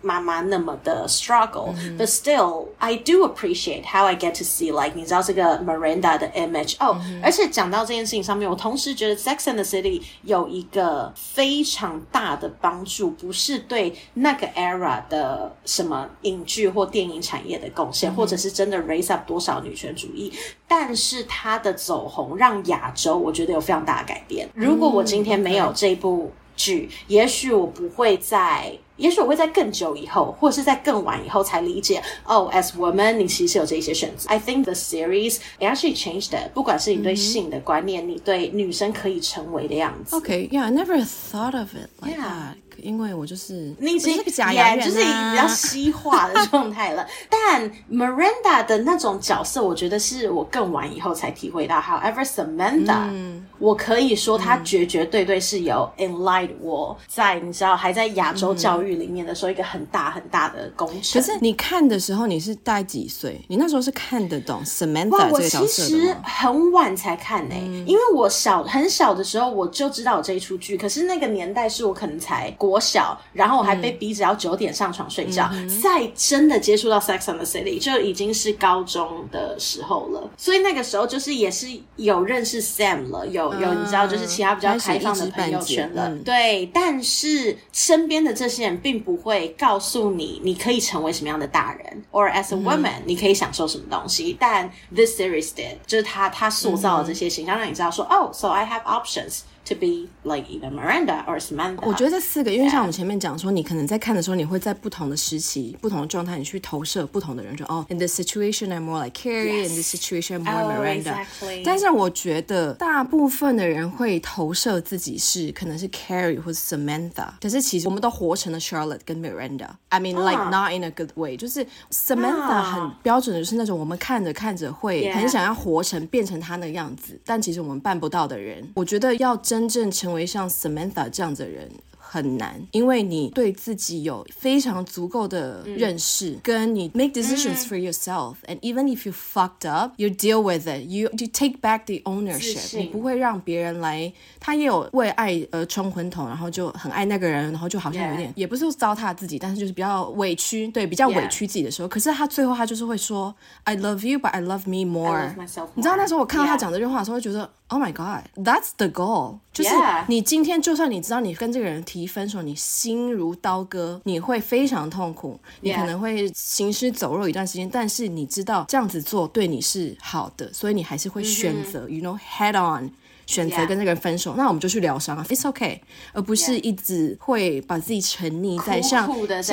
媽媽那麼的 struggle、but still I do appreciate how I get to see like 你知道這個 Miranda 的 image 而且講到這件事情上面，我同時覺得 Sex and the City 有一個非常大的幫助，不是對那個 era 的什麼影劇或電影產業的貢獻、或者是真的 raise up 多少女權主義，但是它的走紅讓亞洲我覺得有非常大的改變。如果我今天沒有這部劇，也許我會在更久以後，或者是在更晚以後才理解as women 你其實有這些選擇。I think the series it actually changed it， 不管是你對性的觀念，你對女生可以成為的樣子。 Okay, yeah, I never thought of it like that. 因為我就是你是個假牙人啊， 就是比較西化的狀態了。但 Miranda 的那種角色，我覺得是我更晚以後才體會到。However, Samantha，我可以說她絕對是有 enlightened 我在你知道還在亞洲教育裡面的時候一個很大的工程。 可是你看的時候你是大概幾歲？你那時候是看得懂 Samantha 這個角色的嗎？ 我其實很晚才看因為我很小的時候我就知道有這一出劇，可是那個年代是我可能才國小，然後我還被逼着要9點上床睡覺，在真的接觸到 Sex and the City 就已經是高中的時候了，所以那個時候就是也是有認識 Sam 了，有你知道就是其他比較開放的朋友圈了，對，但是身邊的這些人並不會告訴你你可以成為什麼樣的大人 or as a woman 你可以享受什麼東西，但 this series did 就是他塑造的這些形象讓你知道說so I have options to be like either Miranda or Samantha。 我覺得这4個，因為像我們前面講說你可能在看的時候你會在不同的時期不同的狀態你去投射不同的人，就in this situation I'm more like Carrie、in this situation I'm more Miranda、但是我覺得大部分的人會投射自己是可能是 Carrie 或是 Samantha， 可是其實我們都活成了 Charlotte 跟 Miranda。 I mean like not in a good way， 就是 Samantha 很標準的就是那種我們看着看着會很想要活成變成她那個樣子，但其實我們辦不到的人，我覺得要真正成為像 Samantha 這樣的人很難，因為你對自己有非常足夠的認識，跟你 make decisions for yourself and even if you fucked up you deal with it, you take back the ownership， 你不會讓別人來，他也有為愛而沖昏頭，然後就很愛那個人，然後就好像有點也不是糟蹋自己，但是就是比較委屈，對，比較委屈自己的時候，可是他最後他就是會說 I love you but I love me more， I love myself more。 你知道那時候我看到他講這句話的時候會覺得Oh my god, that's the goal， 就是你今天就算你知道你跟這個人提分手，你心如刀割，你會非常痛苦，你可能會行屍走肉一段時間，但是你知道這樣子做對你是好的，所以你還是會選擇you know head on選擇跟這個人分手，那我們就去療傷 It's okay， 而不是一直會把自己沉溺在像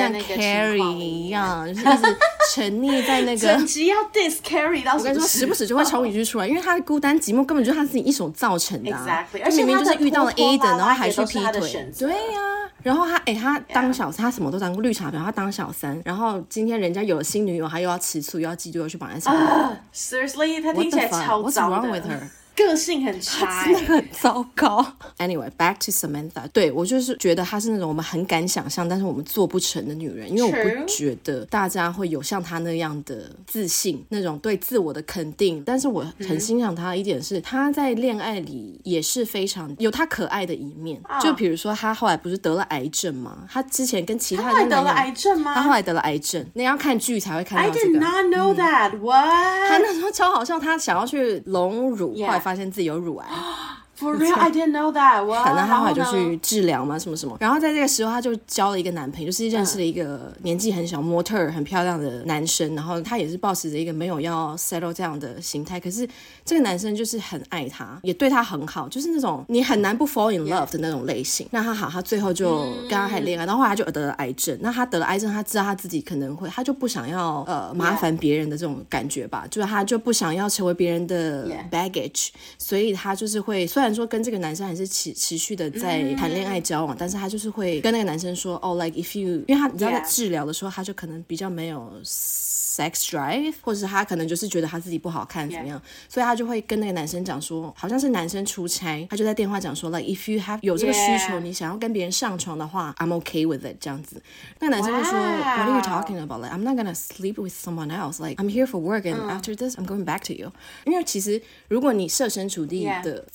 Carrie 一樣，就是一直沉溺在那個整集要 diss Carrie 到， 我跟你說時不时就會衝一句出來，因為他的孤單寂寞根本就是他自己一手造成的 Exactly， 而且明明就是遇到了 Aiden 然後還去劈腿， 對然後他當小三，他什麼都當過綠茶婊，他當小三，然後今天人家有了新女友，他又要吃醋又要嫉妒又去綁在上面 Seriously 他聽起來超糟的 What's wrong with her？ 個性很差， 真的很糟糕。Anyway, back to Samantha， 對，我就是覺得她是那種我們很敢想象，但是我們做不成的女人，因為我不覺得大家會有像她那樣的自信，那種對自我的肯定。但是我很欣賞她的一點是，她在戀愛裡也是非常有她可愛的一面。就比如說，她後來不是得了癌症嗎？她之前跟其他人得了癌症嗎？ 她後來得了癌症，那要看劇才會看到這個。 I did not know that. What？ 她那時候超好笑，她想要去隆乳，後來發現自己有乳癌。 For real, I didn't know that. 反正他後來就去治療嘛，什麼什麼。然後在這個時候，他就交了一個男朋友，就是認識了一個年紀很小、模特兒很漂亮的男生。然後他也是抱持着一個沒有要 settle 這樣的心態，可是這個男生就是很愛他，也對他很好，就是那種你很難不 fall in love 的那種類型。那他好，他最後就跟他還戀愛，然後後來他就得了癌症。那他得了癌症，他知道他自己可能會，他就不想要麻煩別人的這種感覺吧，就是他就不想要成為別人的 baggage， 所以他就是會，雖然說跟這個男生還是持續的在談戀愛交往，但是他就是會跟那個男生說like if you， 因為他你知道在治療的時候，他就可能比較沒有sex drive， 或者是他可能就是覺得他自己不好看怎麼樣，所以他就會跟那個男生講說，好像是男生出差，他就在電話講說 like if you have 有這個需求，你想要跟別人上床的話 I'm okay with it 這樣子。那個男生就說 What are you talking about? Like I'm not gonna sleep with someone else. Like I'm here for work and after this I'm going back to you. 因為其實如果你設身處地的在那個男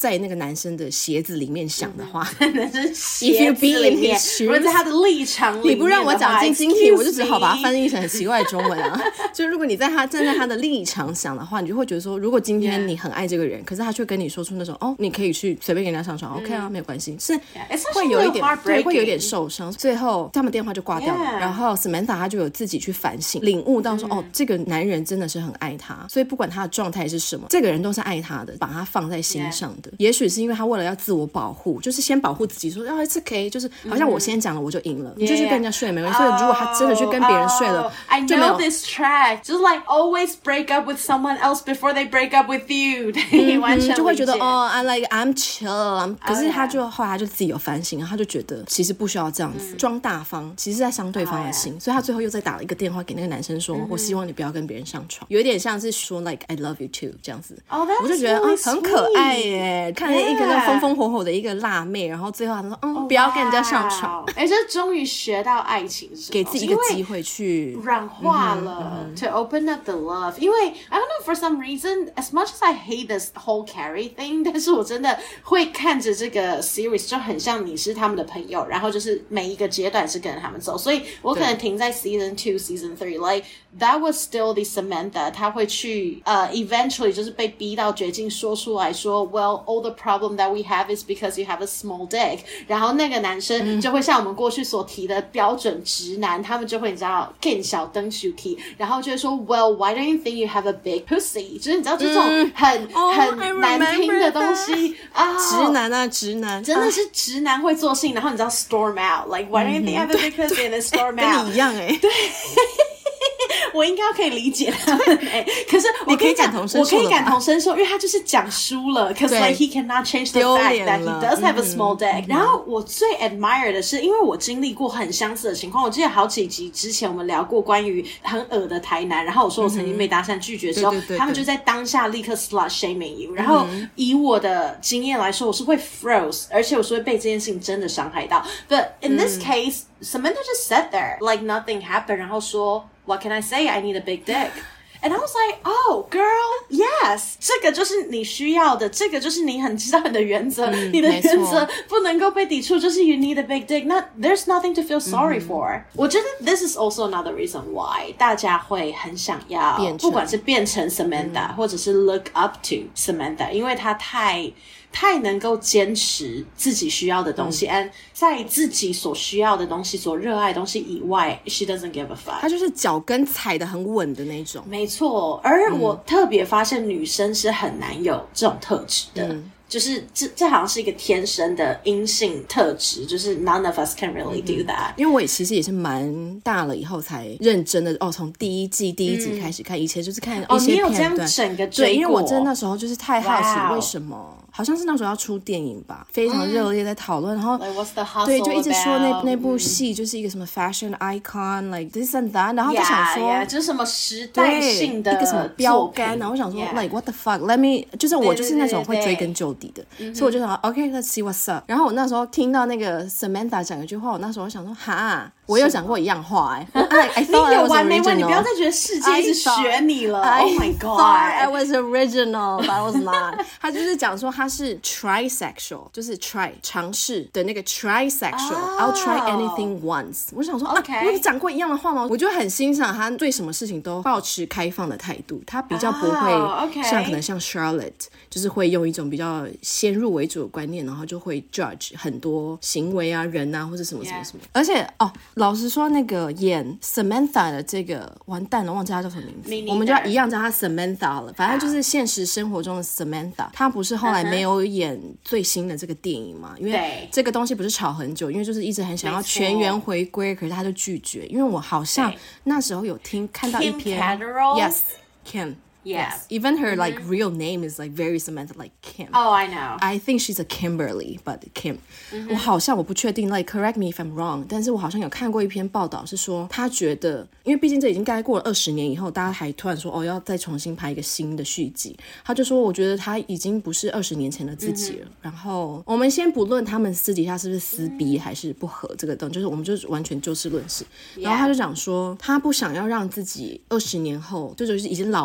男生的鞋子裡面想的話， 男生鞋子裡面，如果在他的立場裡面， 你不讓我講晶晶體，我就只好把它翻譯成很奇怪的中文啊。就如果你站在他的立場想的話，你就會覺得說，如果今天你很愛這個人，可是他卻跟你說出那種你可以去隨便跟人家上床，OK 啊，沒有關係，是會有一點對，會有一點受傷。最後他們電話就掛掉了，然後 Samantha 他就有自己去反省，領悟到說，這個男人真的是很愛他，所以不管他的狀態是什麼，這個人都是愛他的，把他放在心上的。也許是因為他為了要自我保護，就是先保護自己，說it's okay，就是好像我先講了我就贏了，你就去跟人家睡沒關係。所以如果他真的去跟別人睡了， I know this track， just like always break up with someone else before they break up with you， 完全就會覺得I'm chill， 可是他就後來他就自己有反省，然後他就覺得其實不需要這樣子裝大方，其實是在傷對方的心，所以他最後又再打了一個電話給那個男生說，我希望你不要跟別人上床，有一點像是說 like I love you too 這樣子。我就覺得很可愛耶，看了一個那風風火火的一個辣妹，然後最後他說不要跟人家上床， 這終於學到愛情是給自己一個機會去軟化了，to open up the love。因為 I don't know for some reason as much as I hate this whole Carrie thing， 但是我真的會看着這個 series 就很像你是他們的朋友，然後就是每一個階段是跟着他們走，所以我可能停在 season 2 season 3 like that was still the Samantha， 他會去eventually 就是被逼到絕境說出來說 well all the problem that we have is because you have a small dick， 然後那個男生就會像我們過去所提的標準直男，他們就會你知道更小燈 shuki， 然後就會說 well why don't you think you have a big pussy， 就是你知道這種很難聽的東西直男啊直男真的是直男會做性，然後你知道 storm out like why don't you think you have a big pussy and then storm out 跟你一樣對我應該可以理解他們可是我可以感同身受，因為他就是講輸了 cause like he cannot change the fact that he does have a small dick。然後我最 admire 的是，因為我經歷過很相似的情況，我記得好幾集之前我們聊過關於很惡的台男，然後我說我曾經被搭訕拒絕的時候，他們就在當下立刻 slut shaming you， 然後以我的經驗來說，我是會 froze， 而且我是會被這件事情真的傷害到。But in this case Samantha just sat there like nothing happened， 然後說What can I say? I need a big dick. And I was like, oh, girl, yes. 這個就是你需要的，這個就是你很知道你的原則，你的原則不能夠被抵觸，就是 you need a big dick. There's nothing to feel sorry for. 我覺得 this is also another reason why 大家會很想要，不管是變成 Samantha 或者是 look up to Samantha， 因為她太能夠堅持自己需要的東西，and 在自己所需要的東西、所熱愛的東西以外 ，she doesn't give a fuck。她就是腳跟踩得很穩的那種。 沒錯，而我特別發現女生是很難有這種特質的。就是這好像是一個天生的陰性特質，就是 none of us can really do that。 因為我其實也是蠻大了以後才認真的從第一集開始看，以前就是看一些片段。 你有這樣整個追過？ 對，因為我真的那時候就是太好奇為什麼，好像是那時候要出電影吧，非常熱烈在討論，然後 like what's the hustle 對，就一直說那部戲就是一個什麼 fashion icon like this and that， 然後就想說就是什麼時代性的一個什麼標杆，然後我想說 like what the fuck let me， 就是我就是那種會追根究底的，所以我就想 OK let's see what's up。 然後我那時候聽到那個 Samantha 講一句話，我那時候想說哈，我有講過一樣話I thought I was original。 你不要再覺得世界一直學你了 Oh my god I was original but I was not 他就是講說他是 trisexual， 就是 try 嘗試的那個 trisexual、I'll try anything once。 我想說我有講過一樣的話嗎？我就很欣賞他對什麼事情都保持開放的態度，他比較不會像可能像 Charlotte 就是會用一種比較先入為主的觀念，然後就會 judge 很多行為啊人啊或者什麼什麼什麼。而且老實說那個演 Samantha 的這個完蛋了忘記他叫什麼名字，我們就要一樣叫他 Samantha 了，反正就是現實生活中的 Samantha。他不是後來沒有演最新的這個電影嘛，因為這個東西不是吵很久，因為就是一直很想要全員回歸，可是他就拒絕。因為我好像那時候有看到一篇 Yes Kim。Yes, even her like real name is like very Samantha, like Kim. Oh, I know. I think she's a Kimberly, but Kim. 我好像我不確定 like correct me if I'm wrong， 但是我好像有看過一篇報道是說他覺得，因為畢竟這已經大概過了20年以後，大家還突然說要再重新拍一個新的續集，他就說我覺得他已經不是20年前的自己了。然後我們先不論他們私底下是不是撕逼還是不合這個東西，就是我們就完全就事論事。然後他就講說他不想要讓自己20年後就是已經老態啊，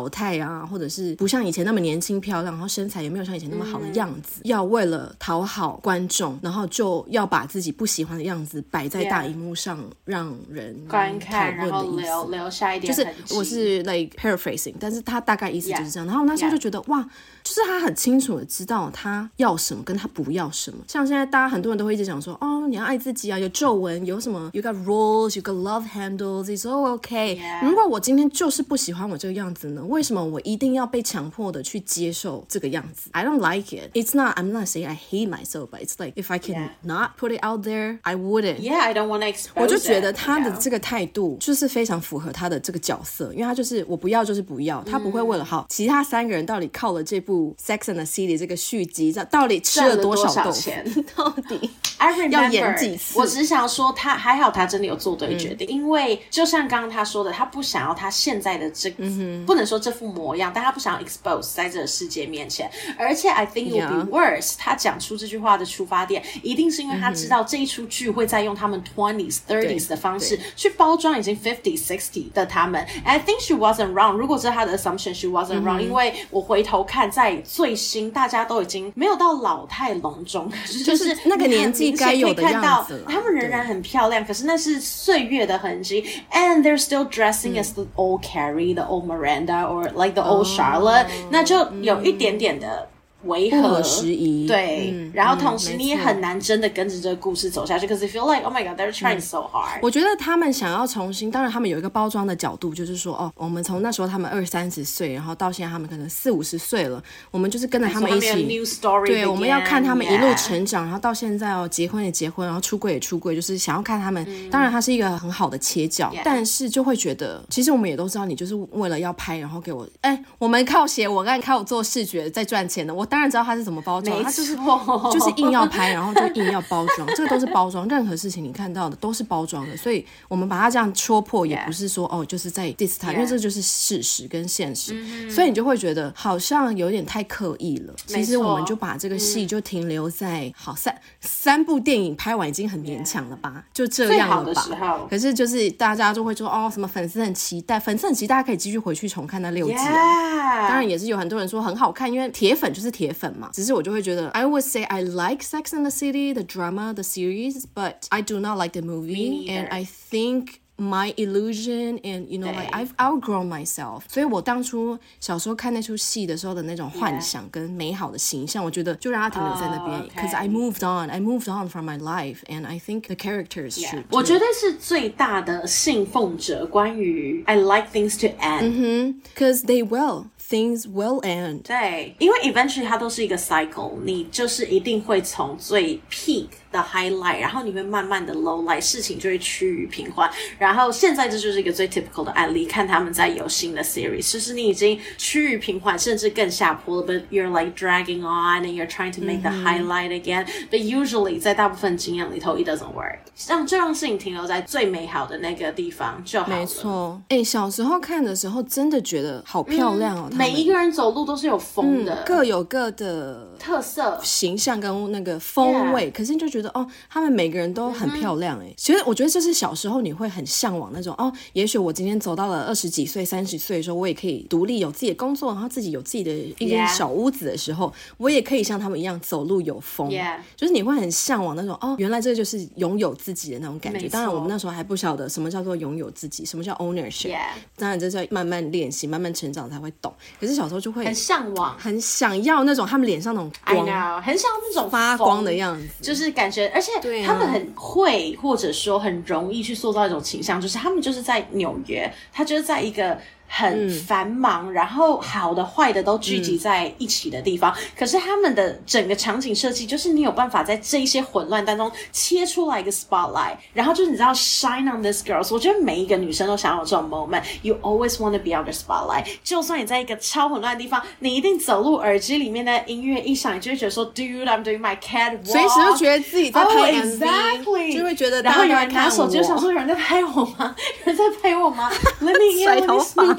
啊，或者是不像以前那麼年輕漂亮，然後身材也沒有像以前那麼好的樣子，要為了討好觀眾，然後就要把自己不喜歡的樣子擺在大熒幕上，讓人觀看，然後留下一點痕跡。 就是我是 like paraphrasing， 但是他大概意思就是這樣。然後我那時候就覺得哇，就是他很清楚的知道他要什麼跟他不要什麼。像現在大家很多人都會一直講說，哦，你要愛自己啊，有皺紋，有什麼 you got rolls, you got love handles, it's all okay。如果我今天就是不喜歡我這個樣子呢，為什麼我一定要被強迫的去接受這個樣子？ I don't like it. It's not, I'm not saying I hate myself, but it's like if I can not put it out there, I wouldn't. Yeah, I don't want to expose it. 我就覺得他的這個態度就是非常符合他的這個角色，因為他就是我不要就是不要，他不會為了好其他三個人到底靠了這部 Sex and the City 這個續集到底吃了多少豆腐，到底 I remember, 要演幾次。 我只想說他還好，他真的有做對決定，因為就像剛剛他說的，他不想要他現在的這不能說這副模樣，但他不想要 expose 在這個世界面前。而且 I think it will be worse， 他講出這句話的出發點一定是因為他知道這一出劇會再用他們 20s30s 的方式去包裝已經 50 60的他們。And I think she wasn't wrong， 如果這是他的 assumption she wasn't wrong，因為我回頭看在最新大家都已經沒有到老態龍鐘，就是那個年紀該有的樣子了， 他們仍然很漂亮，可是那是歲月的痕跡。And they're still dressing as the old Carrie, the old Miranda, or like the old Charlotte，那就有一點點的違和， 不合時宜。 對，然後同時你也很難真的跟着這個故事走下去， because you feel like oh my god they're trying so hard。 我覺得他們想要重新，當然他們有一個包裝的角度，就是說哦，我們從那時候他們20-30歲，然後到現在他們可能40-50歲了，我們就是跟着他們一起，對，我們要看他們一路成長，然後到現在哦，結婚也結婚，然後出櫃也出櫃，就是想要看他們。當然它是一個很好的切角，但是就會覺得，其實我們也都知道，你就是為了要拍，然後給我，我們靠寫文案，靠做視覺在賺錢的，我當然知道他是怎麼包裝，他就是硬要拍，然後就硬要包裝，這個都是包裝，任何事情你看到的都是包装的，所以我們把它這樣戳破，也不是說哦，就是在 diss 他，因為這就是事實跟現實，所以你就會覺得好像有點太刻意了。其實我們就把這個戲就停留在好三部電影拍完已經很勉強了吧，就這樣了吧。可是就是大家就會說哦，什麼粉絲很期待，大家可以繼續回去重看那6集啊。當然也是有很多人說很好看，因為鐵粉就是鐵粉嘛。只是我就會覺得 I would say I like Sex and the City, the drama, the series, but I do not like the movie, and I think my illusion and you know like I've outgrown myself。 所以我當初小時候看那出戲的時候的那種幻想跟美好的形象，我覺得就讓它停留在那邊，because I moved on from my life, and I think the characters should。 我覺得是最大的信奉者關於 I like things to end， because they will。Things will end。 對，因為 eventually 它都是一個 cycle， 你就是一定會從最 peak 的 highlight， 然後你會慢慢的 low light， 事情就會趨於平緩。然後現在這就是一個最 typical 的案例，看他們在有新的 series， 就是你已經趨於平緩，甚至更下坡了 ，but you're like dragging on and you're trying to make the highlight again，but usually 在大部分經驗裡頭 it doesn't work， 就讓事情停留在最美好的那個地方就好了。 沒錯，小時候看的時候真的覺得好漂亮哦。 每一個人走路都是有風的， 各有各的特色、 形象跟那個風味。可是你就覺得哦，他們每個人都很漂亮哎。其實我覺得這是小時候你會很向往那種哦，也許我今天走到了20幾歲、30歲的時候，我也可以獨立有自己的工作，然後自己有自己的一間小屋子的時候，我也可以像他們一樣走路有風。就是你會很向往那種哦，原來這就是擁有自己的那種感覺。當然我們那時候還不曉得什麼叫做擁有自己，什麼叫 ownership。當然這是要慢慢練習、慢慢成長才會懂。可是小時候就會很向往， 很想要那種他們臉上那種光 I know， 很想要那種發光的樣子， 就是感覺，而且他們很會，或者說很容易去塑造一種傾向，就是他們就是在紐約，他就是在一個很繁忙，然後好的壞的都聚集在一起的地方，可是他們的整個場景設計就是你有辦法在這一些混亂當中切出來一個 spotlight， 然後就是你知道 shine on this girls。 我覺得每一個女生都想要有這種 moment， you always want to be on the spotlight。 就算你在一個超混亂的地方，你一定走路耳機裡面的音樂一響，你就會覺得說 dude I'm doing my catwalk， 隨時就覺得自己在拍 MV， exactly， 就會覺得然後有人拿手機就想說有人在拍我嗎？有人在拍我嗎？Let me in， Let me snoop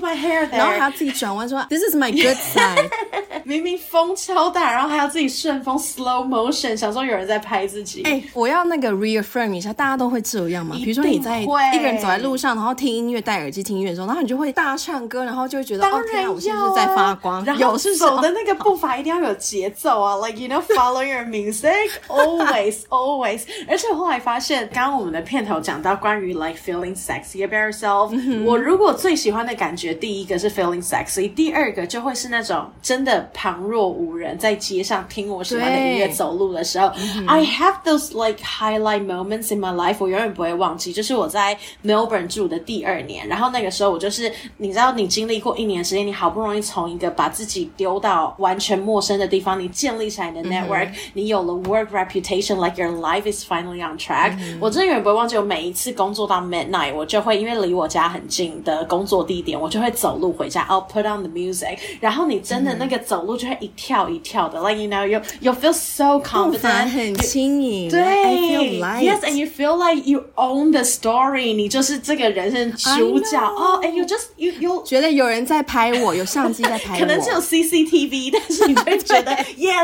my hair there， 然後還要自己轉彎說 This is my good side 明明風超大，然後還要自己順風 slow motion， 想說有人在拍自己。 我要那個 reaffirm 一下，大家都會這樣嗎？比如說你在一個人走在路上，然後聽音樂，戴耳機聽音樂的時候，然後你就會大唱歌，然後就會覺得當然天啊，我現在是在發光。 然後走的那個步伐一定要有節奏啊，like you know follow your music always always。而且我後來發現，剛剛我們的片頭講到關於 like feeling sexy about yourself，我如果最喜歡的感覺，第一個是 feeling sexy， 第二個就會是那種真的旁若無人，在街上聽我喜歡的音樂走路的時候，I have those like highlight moments in my life， 我永遠不會忘記。就是我在 Melbourne 住的第2年，然後那個時候我就是你知道，你經歷過1年時間，你好不容易從一個把自己丟到完全陌生的地方，你建立起來你的 network，你有了 work reputation，like your life is finally on track。我真的永遠不會忘記，我每一次工作到 midnight， 我就會因為離我家很近的工作地點，我就會走路回家。I'll put on the music， 然後你真的那個走路就會一跳一跳的，like you know you feel so confident， 步伐很輕盈， 對 I feel light， yes and you feel like you own the story， 你就是這個人生主角哦，and you just you 覺得有人在拍我，有相機在拍我， 可能只有 CCTV， 但是你就會覺得 yes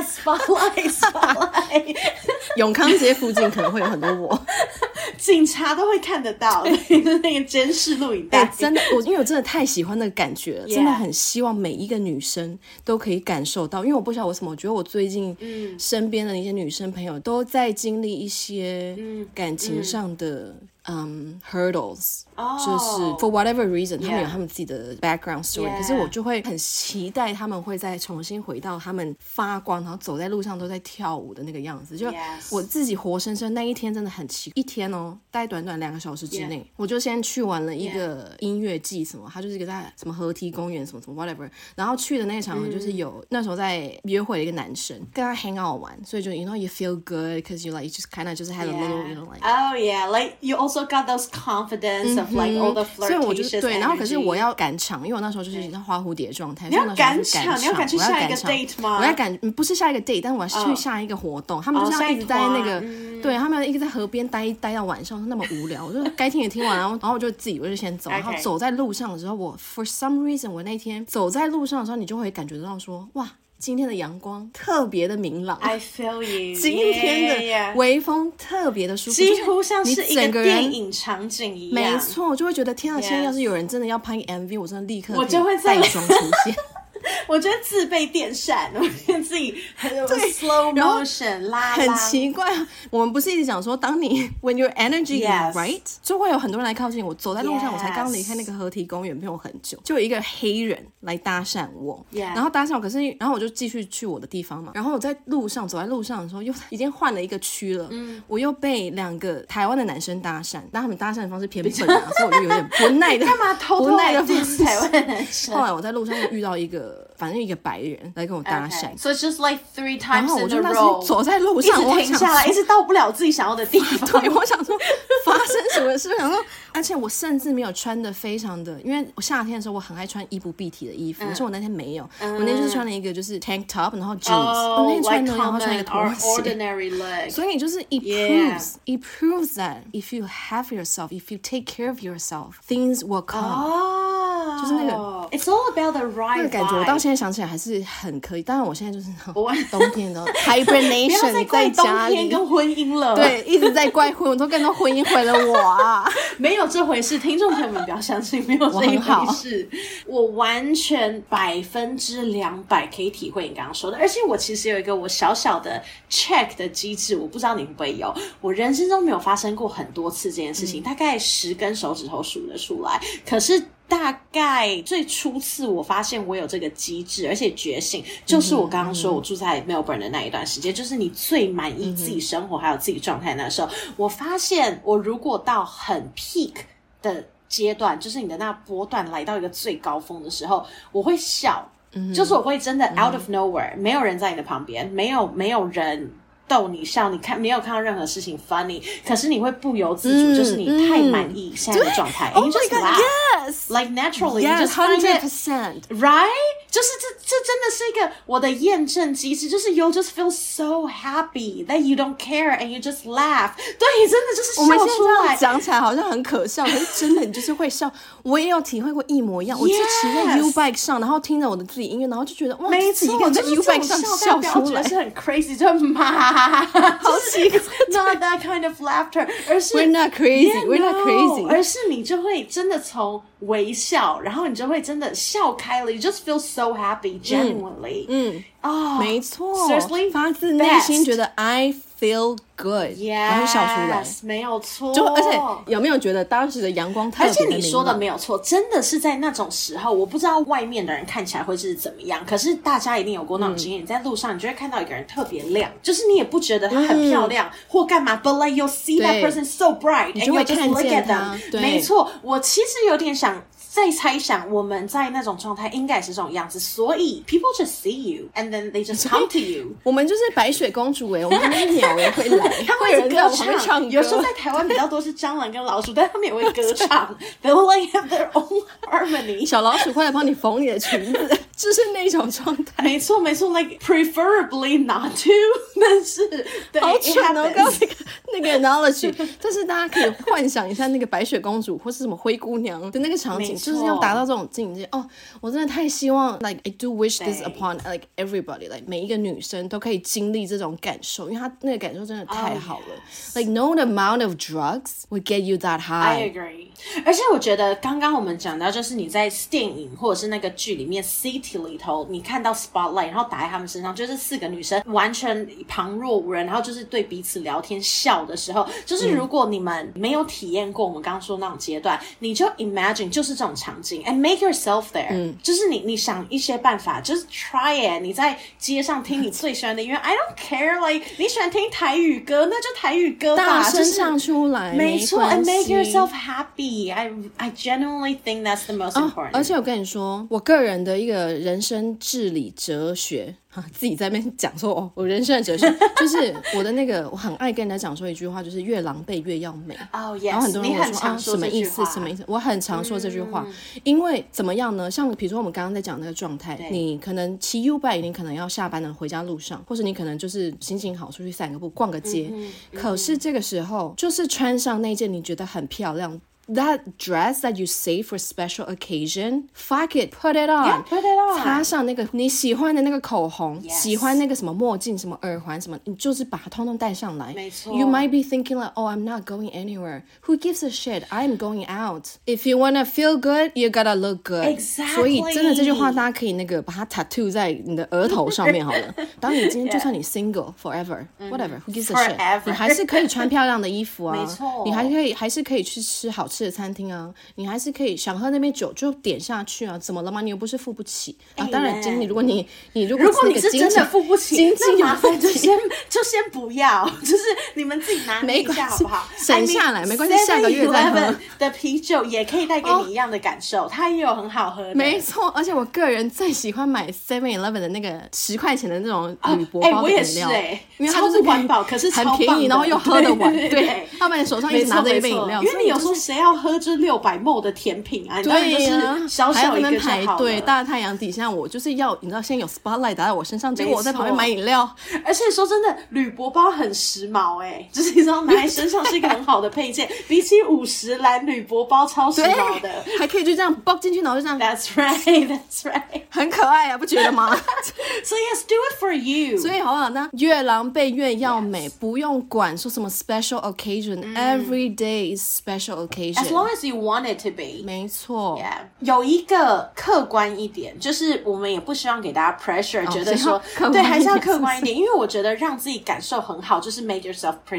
spotlight 永康街附近可能會有很多我警察都會看得到那個監視錄影帶。 真的，因為我真的太喜歡那個感覺了，真的很希望每一個女生都可以感受到。因為我不曉得為什麼，我覺得我最近身邊的一些女生朋友都在經歷一些感情上的hurdles， 就是 for whatever reason， 他們有他們自己的 background story， 可是我就會很期待他們會再重新回到他們發光，然後走在路上都在跳舞的那個樣子。就我自己活生生那一天真的很奇怪，一天哦，大概短短2個小時之內，我就先去完了一個音樂季什麼，它就是一個在什麼河堤公園什麼什麼 whatever， 然後去的那個場合就是有那時候在約會的一個男生跟他 hang out 玩，所以就 you know you feel good because you like you just kind of just had a little you know like oh yeah like you also got those confidence of like all the flirtatious， 所以我就对，然後可是我要趕場，因為我那時候就是像花蝴蝶狀態， 你要趕場，你要趕去下一個 date 嗎？ 我要趕，不是下一個 date， 但我要去下一個活動。他們就是要一直在那個，對，他們一直在河邊待到晚上，那麼無聊。我就該聽也聽完，然後我就自己我就先走，然後走在路上的時候，我 for some reason 我那天走在路上的時候，你就會感覺到說，哇，今天的陽光特別的明朗 I feel you， 今天的微風特別的舒服， 幾乎像是一個電影場景一樣。 沒錯，我就會覺得天啊，現在要是有人真的要拍 MV， 我真的立刻我就會在帶妝出現。 我覺得自備電扇，我覺得自己很 slow motion 拉很奇怪。我們不是一直講說，當你 when your energy is right， 就會有很多人來靠近我。走在路上，我才剛離開那個河堤公園，沒有很久，就有一個黑人來搭訕我，然後搭訕我，可是然後我就繼續去我的地方嘛。然後我在路上走在路上的時候，又已經換了一個區了，我又被2個台灣的男生搭訕，但他們搭訕的方式偏笨啊，所以我就有點不耐的， 幹嘛偷偷來 diss 台灣男生？ 後來我在路上又遇到一個。反正一個白人來跟我搭訕， so it's just like 3 times in a row。然後我就那时候走在路上， 一直停下來，一直到不了自己想要的地方。 對，我想說發生什麼事？我想說，而且我甚至沒有穿的非常的，因為我夏天的時候我很愛穿衣不蔽體的衣服，可是我那天沒有，我那天就是穿了一個就是 tank top， 然後 jeans， 我那天穿的，然後穿一個拖鞋。所以就是 it proves that if you have yourself, if you take care of yourself, things will come。就是那個 ，It's all about the right vibe。那個感覺，我到現在想起来還是很可以。當然，我現在就是冬天的 hibernation， 在怪冬天跟婚姻了。 對，一直在怪婚，我都感到婚姻毀了我啊！ 沒有這回事，聽眾朋友們不要相信，沒有這一回事。我完全200%可以體會你剛剛說的，而且我其實有一個我小小的 check 的機制，我不知道你會不會有。我人生中沒有發生過很多次這件事情，大概10根手指頭數得出來。可是大概最初次我發現我有這個機制，而且覺醒，就是我剛剛說我住在 Melbourne 的那一段時間，就是你最滿意自己生活還有自己狀態那時候，我發現我如果到很 peak 的階段，就是你的那波段來到一個最高峰的時候，我會笑，就是我會真的 out of nowhere， 沒有人在你的旁邊，沒有人逗你笑，你没有看到任何事情 funny， 可是你会不由自主，就是你太滿意现在的狀態，and you just laugh, yes, like naturally, yes, you just find it 100%, right? 就是這真的是一個我的驗證機制，就是 you just feel so happy that you don't care and you just laugh. 對，真的就是笑出來。 我們現在這樣講起來好像很可笑，可是真的你就是會笑。我也有體會過一模一樣，我就騎在 U-Bike 上，然後聽着我的自己音樂，然後就覺得哇， 沒自己一個人在 U-Bike 上笑出來， 是很 crazy， 就嘛，好奇怪 ，not that kind of laughter， 而是 we're not crazy，we're not crazy， 而是你就會真的從微笑，然後你就會真的笑開了 ，you just feel so happy genuinely， 沒錯 seriously， 發自內心覺得 I feel good， 然後笑出來， 沒有錯。 就而且有沒有覺得當時的陽光特別的明亮？ 而且你說的沒有錯，真的是在那種時候，我不知道外面的人看起來會是怎麼樣，可是大家一定有過那種經驗，你在路上你就會看到一個人特別亮，就是你也不覺得他很漂亮或幹嘛 ，but like you'll see that person so bright， and you just look at them。沒錯，我其實有點想。在猜想我們在那種狀態應該也是這種樣子，所以 people just see you and then they just come to you。 我們就是白雪公主我們那鳥也會來， 他們會歌唱。有時候在台灣比較多是蟑螂跟老鼠，但他們也會歌唱。They will like have their own harmony。 小老鼠會來幫你縫你的裙子，就是那種狀態。 沒錯沒錯 ，like preferably not to， 但是對， 好蠢哦！剛剛那個 analogy， 但是大家可以幻想一下那個白雪公主或是什麼灰姑娘的那個場景。就是要達到這種境界哦！我真的太希望 ，like I do wish this upon like everybody， like 每一個女生都可以經歷這種感受，因為她那個感受真的太好了。Like no amount of drugs would get you that high. I agree. 而且我覺得剛剛我們講到，就是你在電影或者是那個劇裡面 City 裡頭，你看到 Spotlight， 然後打在他們身上，就是4個女生完全旁若無人，然後就是對彼此聊天笑的時候，就是如果你們沒有體驗過我們剛剛說的那種階段，你就 imagine 就是這種場景 and make yourself there，就是你想一些辦法，就是 try it。你在街上聽你最喜歡的音樂，I don't care，like 你喜歡聽台語歌，那就台語歌吧， 大聲唱出來， 沒錯 ，and make yourself happy。I genuinely think that's the most important。 而且我跟你說，我個人的一個人生治理哲學。自己在那邊講說哦，我人生的哲學就是我的那個，我很愛跟人家講說一句話，就是越狼狽越要美。 Oh yes， 然後很多人問我說啊，什麼意思？什麼意思？我很常說這句話，因為怎麼樣呢？像比如說我們剛剛在講那個狀態，你可能騎 U-Bike， 你可能要下班了回家路上，或者你可能就是心情好出去散個步、逛個街。可是這個時候，就是穿上那件你覺得很漂亮。That dress that you save for special occasion, fuck it, put it on. Yeah, put it on. 擦上那個你喜歡的那個口紅， 喜歡那個什麼墨鏡、什麼耳環什麼，你就是把它通通帶上來。 沒錯。 You might be thinking like, oh, I'm not going anywhere. Who gives a shit? I'm going out. If you wanna feel good, you gotta look good. Exactly. 所以真的這句話，大家可以那個把它 tattoo 在你的額頭上面好了。當你今天就算你 single forever, whatever, who gives a shit? 你還是可以穿漂亮的衣服啊。 沒錯。 你還是可以去吃好吃的餐廳啊，你還是可以想喝那杯酒就點下去啊，怎麼了嗎？你又不是付不起啊。當然，如果你是真的付不起， 經濟麻煩就先不要，就是你們自己拿捏一下好不好？ 省下來沒關係，下個月再喝。 的啤酒也可以帶給你一樣的感受，它也有很好喝的。 沒錯，而且我個人最喜歡買 7-11 的那個10塊錢的那種鋁箔包的飲料，因為它就是環保，可是很便宜，然後又喝得完。對，要不然你手上一直拿着一杯飲料， 因為你有時候誰要喝這600ml 的甜品啊？ 對呀，小小一個就好了，還不能排隊，大太陽底下，我就是要你知道，先有 spotlight 打在我身上，結果我在旁邊買飲料。 而且說真的，鋁箔包很時髦就是你知道拿在身上是一個很好的配件，比起50嵐鋁箔包超時髦的， 還可以就這樣包進去，然後就這樣。 That's right，很可愛啊，不覺得嗎 ？So yes, do it for you。 所以好不好？那越狼狽越要美，不用管說什麼 special occasion，every day is special occasion。As long as you want it to be。 沒錯。 Yeah， 有一個客觀一點，就是我們也不希望給大家 pressure，覺得說對，還是要客觀一點，因為我覺得讓自己感受很好，就是 make yourself pretty。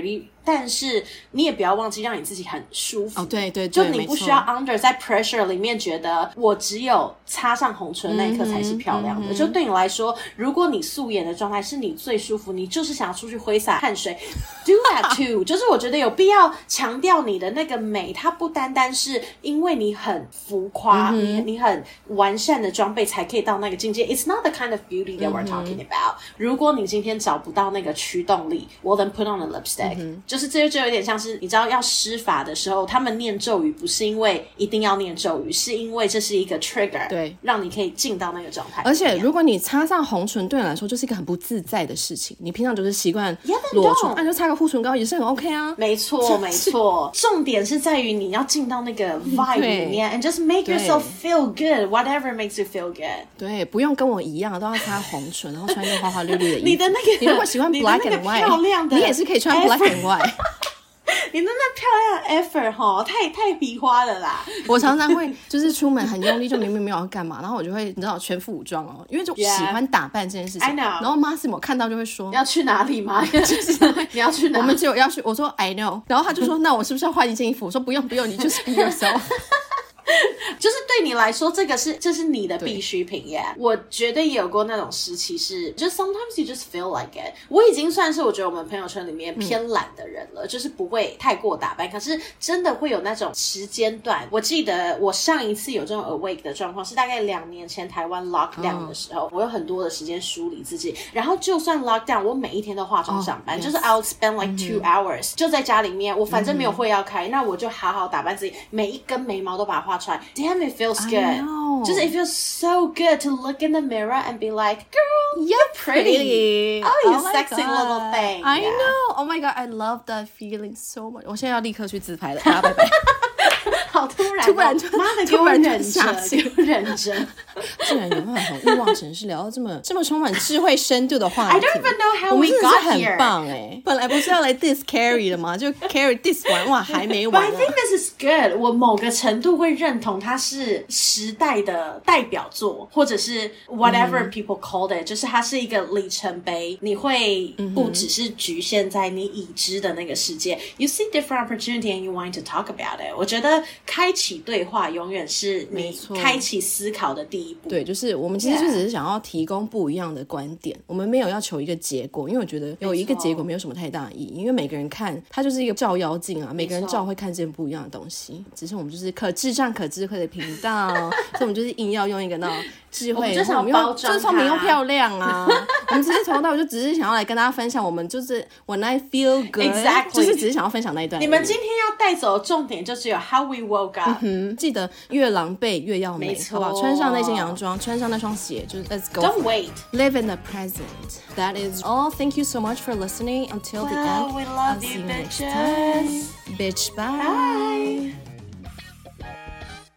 但是你也不要忘記讓你自己很舒服。 對， 就你不需要 under 在 pressure 裡面覺得我只有擦上紅唇那一刻才是漂亮的。就對你來說，如果你素顏的狀態是你最舒服，你就是想要出去揮灑汗水 ，do that too。就是我覺得有必要強調你的那個美，它不單單是因為你很浮誇，你很完善的裝備才可以到那個境界。It's not the kind of beauty that we're talking about。如果你今天找不到那個驅動力 ，well then put on a lipstick。就是這就有點像是你知道要施法的時候，他們念咒語不是因為一定要念咒語，是因為這是一個 trigger， 對，讓你可以進到那個狀態。 而且如果你擦上紅唇，對你來說就是一個很不自在的事情。你平常就是習慣裸唇，那就擦個護唇膏也是很 OK 啊。 沒錯，沒錯。重點是在於你要進到那個 vibe 裡面 ，and just make yourself feel good，whatever makes you feel good。 對，不用跟我一樣都要擦紅唇，然後穿一個花花綠綠的衣服。 你的那個， 你如果喜歡 black and white， 你也是可以穿 black and white。 你那漂亮的 effort 齁，太皮花了啦！ 我常常會就是出門很用力，就明明沒有要幹嘛，然後我就會你知道全副武裝哦，因為就喜歡打扮這件事情。I know。然後 Massimo 看到就會說：“ 要去哪裡嗎？就是你要去哪？” 我們只有要去。我說 I know。然後他就說：“那我是不是要換一件衣服？”我說：“不用，你就是 be yourself。” 就是對你來說，這是你的必需品耶。我覺得也有過那種時期是，就 sometimes you just feel like it。我已經算是我覺得我們朋友圈裡面偏懶的人了，就是不會太過打扮。可是真的會有那種時間段，我記得我上一次有這種 awake 的狀況是大概2年前台灣 lockdown 的時候，我有很多的時間梳理自己。然後就算 lockdown， 我每一天都化妝上班，就是 I'll spend like 2 hours 就在家裡面，我反正沒有會要開，那我就好好打扮自己，每一根眉毛都把它畫出來。Damn, it feels good. Just it feels so good to look in the mirror and be like, girl, you're pretty. Oh, you sexy little thing. I know. Oh my god, I love that feeling so much. 我現在要立刻去自拍了，大家拜拜。 好突然，媽的，給我忍着。 竟然有辦法從慾望城市聊到這麼充滿智慧深度的話題。 I don't even know how we got here. 我們真的是很棒欸，本來不是要來 diss Carrie 的嗎？就 Carrie diss 完，哇，還沒完。 But I think this is good. 我某個程度會認同它是時代的代表作，或者是 whatever people called it，就是它是一個里程碑。你會不只是局限在你已知的那個世界。You see different opportunity and you want to talk about it。我覺得開啟對話永遠是你開啟思考的第一步。 對，就是我們其實就只是想要提供不一樣的觀點，我們沒有要求一個結果，因為我覺得有一個結果沒有什麼太大的意義，因為每個人看它就是一個照妖鏡啊，每個人照會看見不一樣的東西，只是我們就是可智障可智慧的頻道，所以我們就是硬要用一個那種智慧， 就想包裝它， 就是聪明又漂亮啊。我們其實從頭到尾就只是想要來跟大家分享，我們就是 when I feel good， exactly， 就是只是想要分享那一段。 你們今天要帶走的重點就只有 how we woke up。 記得越狼狽越要美，好不好？穿上那件洋裝，穿上那雙鞋，就是 let's go。 Don't wait. Live in the present. That is all. Thank you so much for listening until the end. We love you, bitches. Bitch, bye.